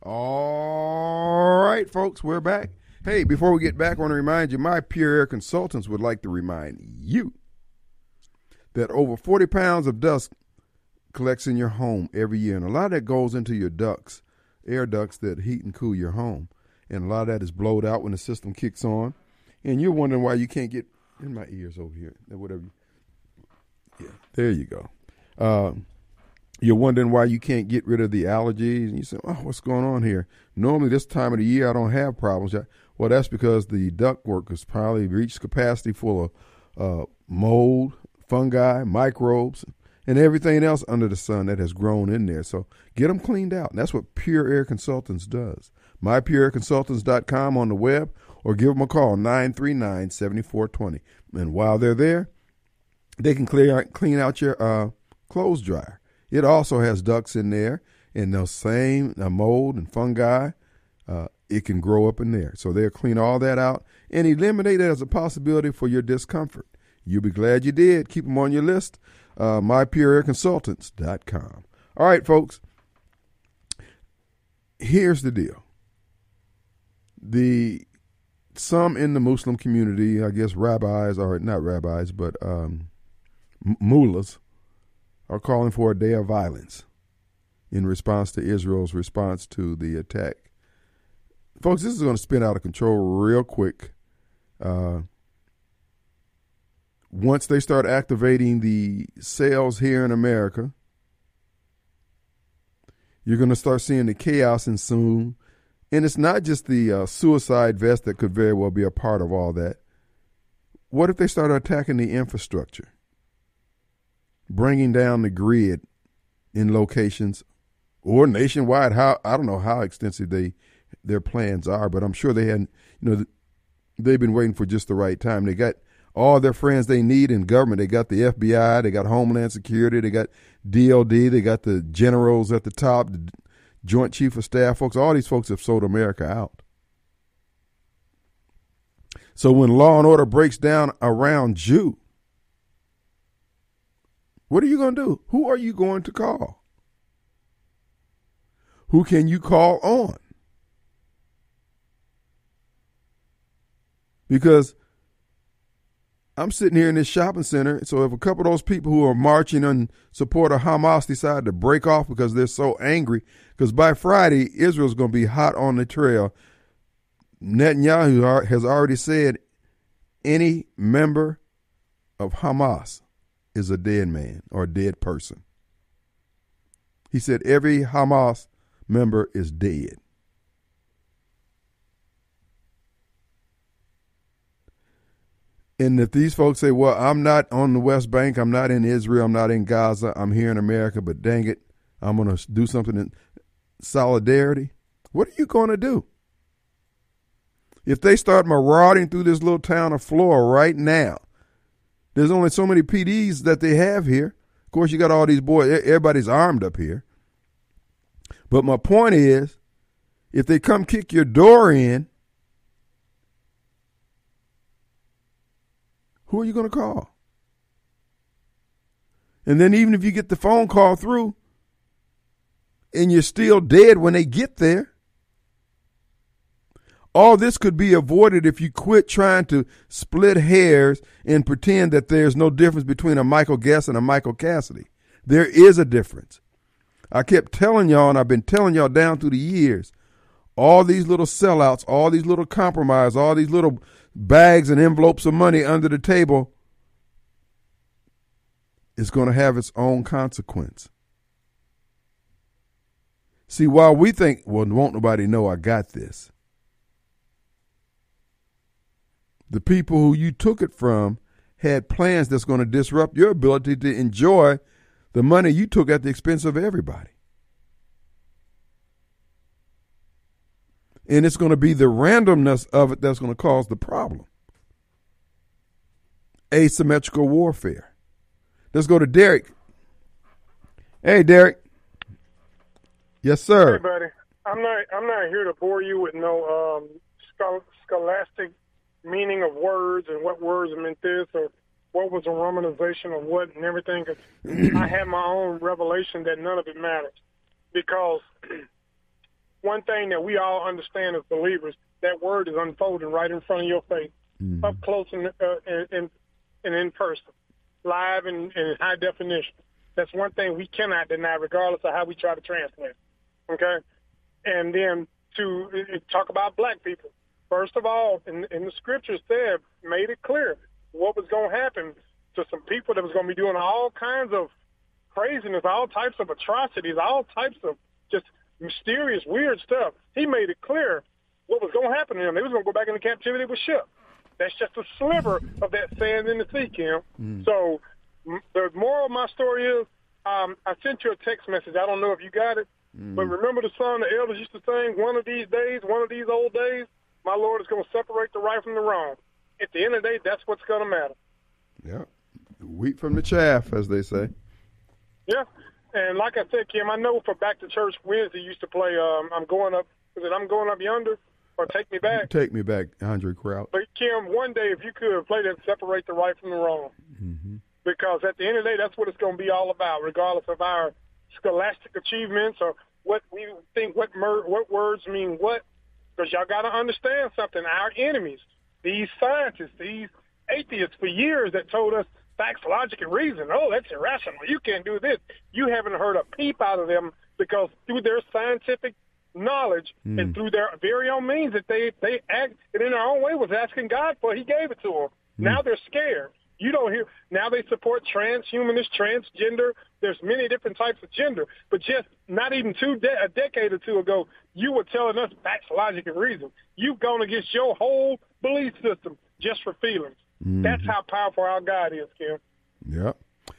Speaker 2: All right, folks, we're back. Hey, before we get back, I want to remind you, my Pure Air Consultants would like to remind you that over forty pounds of dust collects in your home every year. And a lot of that goes into your ducts, air ducts that heat and cool your home. And a lot of that is blowed out when the system kicks on. And you're wondering why you can't get in my ears over here, or whatever. Yeah, there you go. Uh, you're wondering why you can't get rid of the allergies. And you say, oh, what's going on here? Normally this time of the year I don't have problems. Well, that's because the ductwork has probably reached capacity full of uh, mold, fungi, microbes, and everything else under the sun that has grown in there. So get them cleaned out. And that's what Pure Air Consultants does. my pure air consultants dot com on the web, or give them a call, nine three nine, seven four two zero. And while they're there, they can clear out, clean out your uh, clothes dryer. It also has ducts in there, and those same uh, mold and fungi, uh, it can grow up in there. So they'll clean all that out and eliminate it as a possibility for your discomfort. You'll be glad you did. Keep them on your list, uh, my pure air consultants dot com. All right, folks, here's the deal. The some in the Muslim community, I guess rabbis, or not rabbis, but um, mullahs, are calling for a day of violence in response to Israel's response to the attack. Folks, this is going to spin out of control real quick. Uh, once they start activating the sales here in America, you're going to start seeing the chaos ensue. And it's not just the uh, suicide vest that could very well be a part of all that. What if they start attacking the infrastructure? Bringing down the grid in locations or nationwide. How I don't know how extensive they their plans are, but I'm sure they had, you know, they've been waiting for just the right time. They got all their friends they need in government. They got the F B I, they got Homeland Security, they got D O D, they got the generals at the top, the Joint Chief of Staff folks. All these folks have sold America out. So when law and order breaks down around you, what are you going to do? Who are you going to call? Who can you call on? Because I'm sitting here in this shopping center, so if a couple of those people who are marching in support of Hamas decide to break off because they're so angry, because by Friday, Israel's going to be hot on the trail. Netanyahu has already said any member of Hamas is a dead man or a dead person. He said every Hamas member is dead. And if these folks say, well, I'm not on the West Bank, I'm not in Israel, I'm not in Gaza, I'm here in America, but dang it, I'm going to do something in solidarity, what are you going to do? If they start marauding through this little town of Flora right now, there's only so many P Ds that they have here. Of course, you got all these boys, everybody's armed up here. But my point is, if they come kick your door in, who are you going to call? And then even if you get the phone call through and you're still dead when they get there, all this could be avoided if you quit trying to split hairs and pretend that there's no difference between a Michael Guest and a Michael Cassidy. There is a difference. I kept telling y'all, and I've been telling y'all down through the years, all these little sellouts, all these little compromise, all these little bags and envelopes of money under the table is going to have its own consequence. See, while we think, well, won't nobody know I got this, the people who you took it from had plans that's going to disrupt your ability to enjoy the money you took at the expense of everybody. And it's going to be the randomness of it that's going to cause the problem. Asymmetrical warfare. Let's go to Derek. Hey, Derek. Yes, sir.
Speaker 8: Hey, buddy. I'm not. I'm not here to bore you with no um, schol- scholastic meaning of words and what words meant this or what was a romanization of what and everything. Cause I have my own revelation that none of it matters. Because one thing that we all understand as believers, that word is unfolding right in front of your face, mm-hmm. up close and, uh, and, and, and in person, live and in high definition. That's one thing we cannot deny regardless of how we try to translate. Okay? And then to uh, talk about black people. First of all, in, in the scriptures said, made it clear what was going to happen to some people that was going to be doing all kinds of craziness, all types of atrocities, all types of just mysterious, weird stuff. He made it clear what was going to happen to them. They was going to go back into captivity with ship. That's just a sliver of that sand in the sea, Kim. Mm. So m- the moral of my story is um, I sent you a text message. I don't know if you got it, mm. but remember the song the elders used to sing, one of these days, one of these old days, my Lord is going to separate the right from the wrong. At the end of the day, that's what's going to matter.
Speaker 2: Yeah. Wheat from the chaff, as they say.
Speaker 8: Yeah. And like I said, Kim, I know for Back to Church Wednesday used to play um, I'm Going Up, is it I'm Going Up Yonder or Take Me Back?
Speaker 2: Take Me Back, Andre Crouch.
Speaker 8: But, Kim, one day if you could play that, separate the right from the wrong. Mm-hmm. Because at the end of the day, that's what it's going to be all about, regardless of our scholastic achievements or what we think, what, mer- what words mean what. Because y'all got to understand something. Our enemies, these scientists, these atheists for years that told us facts, logic, and reason. Oh, that's irrational. You can't do this. You haven't heard a peep out of them because through their scientific knowledge mm. and through their very own means that they, they act and in their own way was asking God for, he gave it to them. Mm. Now they're scared. You don't hear. Now they support transhumanist, transgender. There's many different types of gender. But just not even two de- a decade or two ago, you were telling us facts, logic, and reason. You've gone against your whole belief system just for feelings. Mm-hmm. That's how powerful our God is, Kim.
Speaker 2: Yep.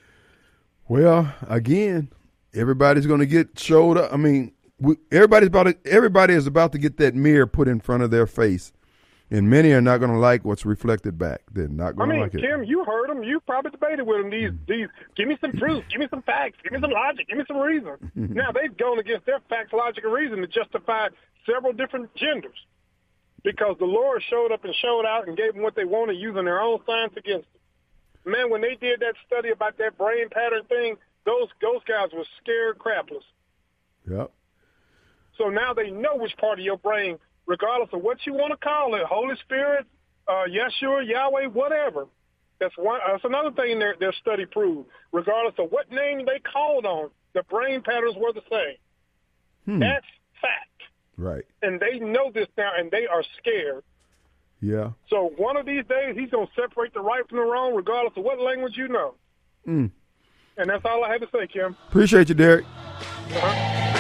Speaker 2: Well, again, everybody's going to get showed up. I mean, we, everybody's about to, everybody is about to get that mirror put in front of their face. And many are not going to like what's reflected back. They're not going
Speaker 8: I mean,
Speaker 2: to like it.
Speaker 8: Kim, you heard them. You probably debated with them. These, these. Give me some proof. Give me some facts. Give me some logic. Give me some reason. Now they've gone against their facts, logic, and reason to justify several different genders, because the Lord showed up and showed out and gave them what they wanted, using their own science against them. Man, when they did that study about that brain pattern thing, those those guys were scared crapless.
Speaker 2: Yep.
Speaker 8: So now they know which part of your brain, regardless of what you want to call it, Holy Spirit, uh, Yeshua, Yahweh, whatever. That's one. That's another thing their their study proved. Regardless of what name they called on, the brain patterns were the same. Hmm. That's fact.
Speaker 2: Right.
Speaker 8: And they know this now, and they are scared.
Speaker 2: Yeah.
Speaker 8: So one of these days, he's going to separate the right from the wrong, regardless of what language you know.
Speaker 2: Mm.
Speaker 8: And that's all I had to say, Kim.
Speaker 2: Appreciate you, Derek.
Speaker 8: Uh-huh.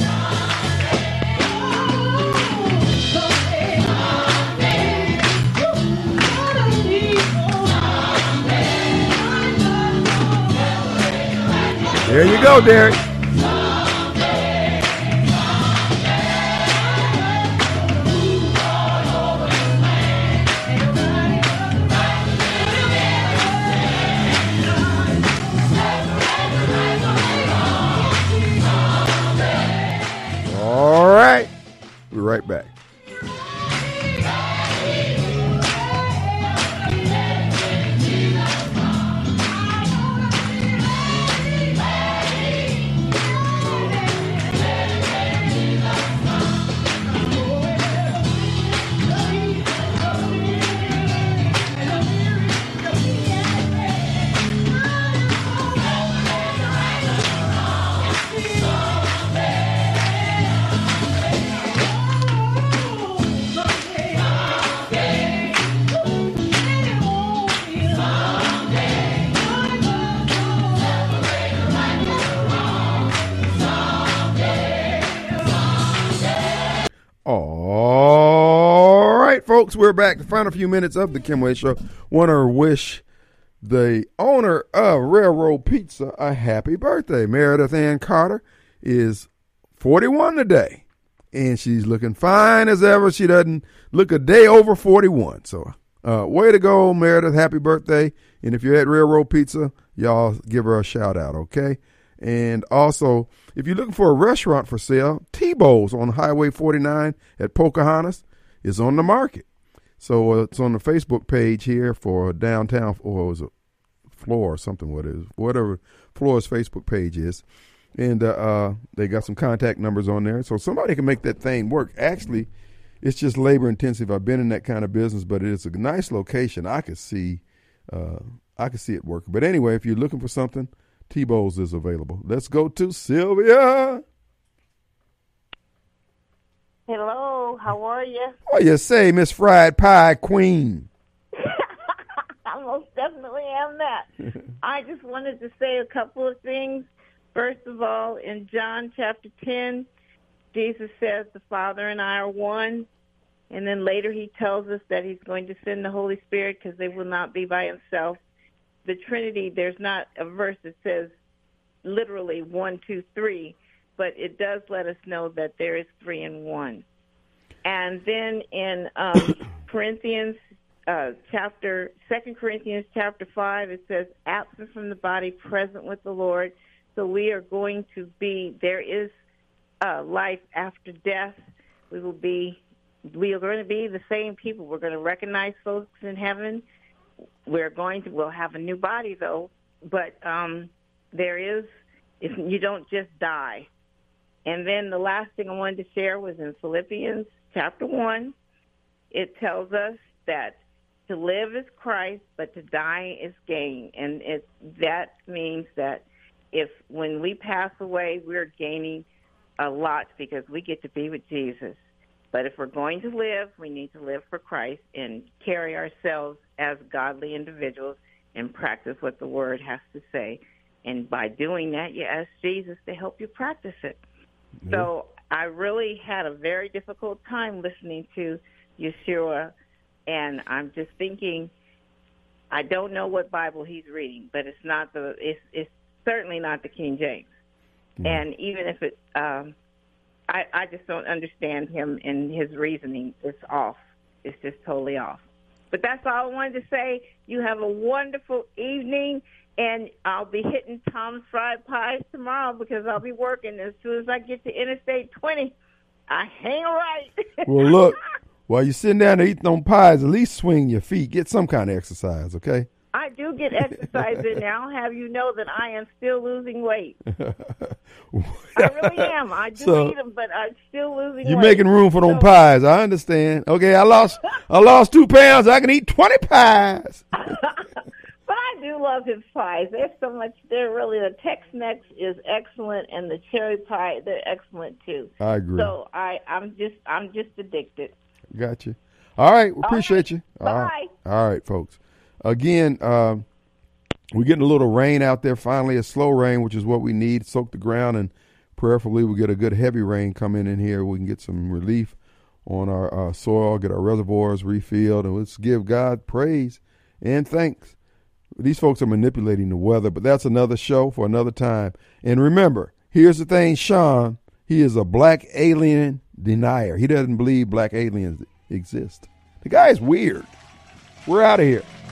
Speaker 2: There you go, Derek. All right. We're right back. All right, folks, we're back. The final few minutes of the Kim Wade Show. Want to wish the owner of Railroad Pizza a happy birthday. Meredith Ann Carter is forty-one today, and she's looking fine as ever. She doesn't look a day over forty-one. So, uh, way to go, Meredith. Happy birthday. And if you're at Railroad Pizza, y'all give her a shout out, okay? And also, if you're looking for a restaurant for sale, T-Bow's on Highway forty-nine at Pocahontas is on the market. So uh, it's on the Facebook page here for downtown, or was it Floor or something, what it is, whatever Floor's Facebook page is. And uh, uh, they got some contact numbers on there. So somebody can make that thing work. Actually, it's just labor intensive. I've been in that kind of business, but it's a nice location. I could see, uh, I could see it working. But anyway, if you're looking for something, T-Bow's is available. Let's go to Sylvia.
Speaker 9: Hello, how are you?
Speaker 2: What you say, Miss Fried Pie Queen?
Speaker 9: I most definitely am that. I just wanted to say a couple of things. First of all, in John chapter ten, Jesus says the Father and I are one. And then later he tells us that he's going to send the Holy Spirit because they will not be by himself. The Trinity, there's not a verse that says literally one, two, three, but it does let us know that there is three in one. And then in um, Corinthians uh, chapter, Second Corinthians chapter five, it says, absent from the body, present with the Lord. So we are going to be, there is uh, life after death. We will be, we are going to be the same people. We're going to recognize folks in heaven. We're going to, we'll have a new body though, but um, there is, if you don't just die. And then the last thing I wanted to share was in Philippians chapter one. It tells us that to live is Christ, but to die is gain. And it, that means that if when we pass away, we're gaining a lot because we get to be with Jesus. But if we're going to live, we need to live for Christ and carry ourselves as godly individuals and practice what the Word has to say. And by doing that, you ask Jesus to help you practice it. Mm-hmm. So I really had a very difficult time listening to Yeshua, and I'm just thinking, I don't know what Bible he's reading, but it's not the, it's, it's certainly not the King James. Mm-hmm. And even if it, um, I, I just don't understand him and his reasoning. It's off. It's just totally off. But that's all I wanted to say. You have a wonderful evening, and I'll be hitting Tom's Fried Pies tomorrow because I'll be working. As soon as I get to Interstate twenty, I hang a right.
Speaker 2: Well, look, while you're sitting down there eating on pies, at least swing your feet. Get some kind of exercise, okay?
Speaker 9: I do get exercise in there. I'll have you know that I am still losing weight. I really am. I do
Speaker 2: So,
Speaker 9: eat them, but I'm still losing
Speaker 2: You're
Speaker 9: weight.
Speaker 2: making room for them
Speaker 9: So-
Speaker 2: pies. I understand. Okay, I lost I lost two pounds. I can eat twenty pies.
Speaker 9: But I do love his pies. There's so much. They're really, the Tex-Mex is excellent, and the cherry pie, they're excellent too.
Speaker 2: I agree.
Speaker 9: So I, I'm just, I'm just addicted.
Speaker 2: Got you. All right. We appreciate you. All
Speaker 9: Bye.
Speaker 2: right. All right, folks. Again, uh, we're getting a little rain out there. Finally, a slow rain, which is what we need. Soak the ground, and prayerfully we get a good heavy rain coming in here. We can get some relief on our uh, soil, get our reservoirs refilled, and let's give God praise and thanks. These folks are manipulating the weather, but that's another show for another time. And remember, here's the thing, Sean, he is a black alien denier. He doesn't believe black aliens exist. The guy is weird. We're out of here.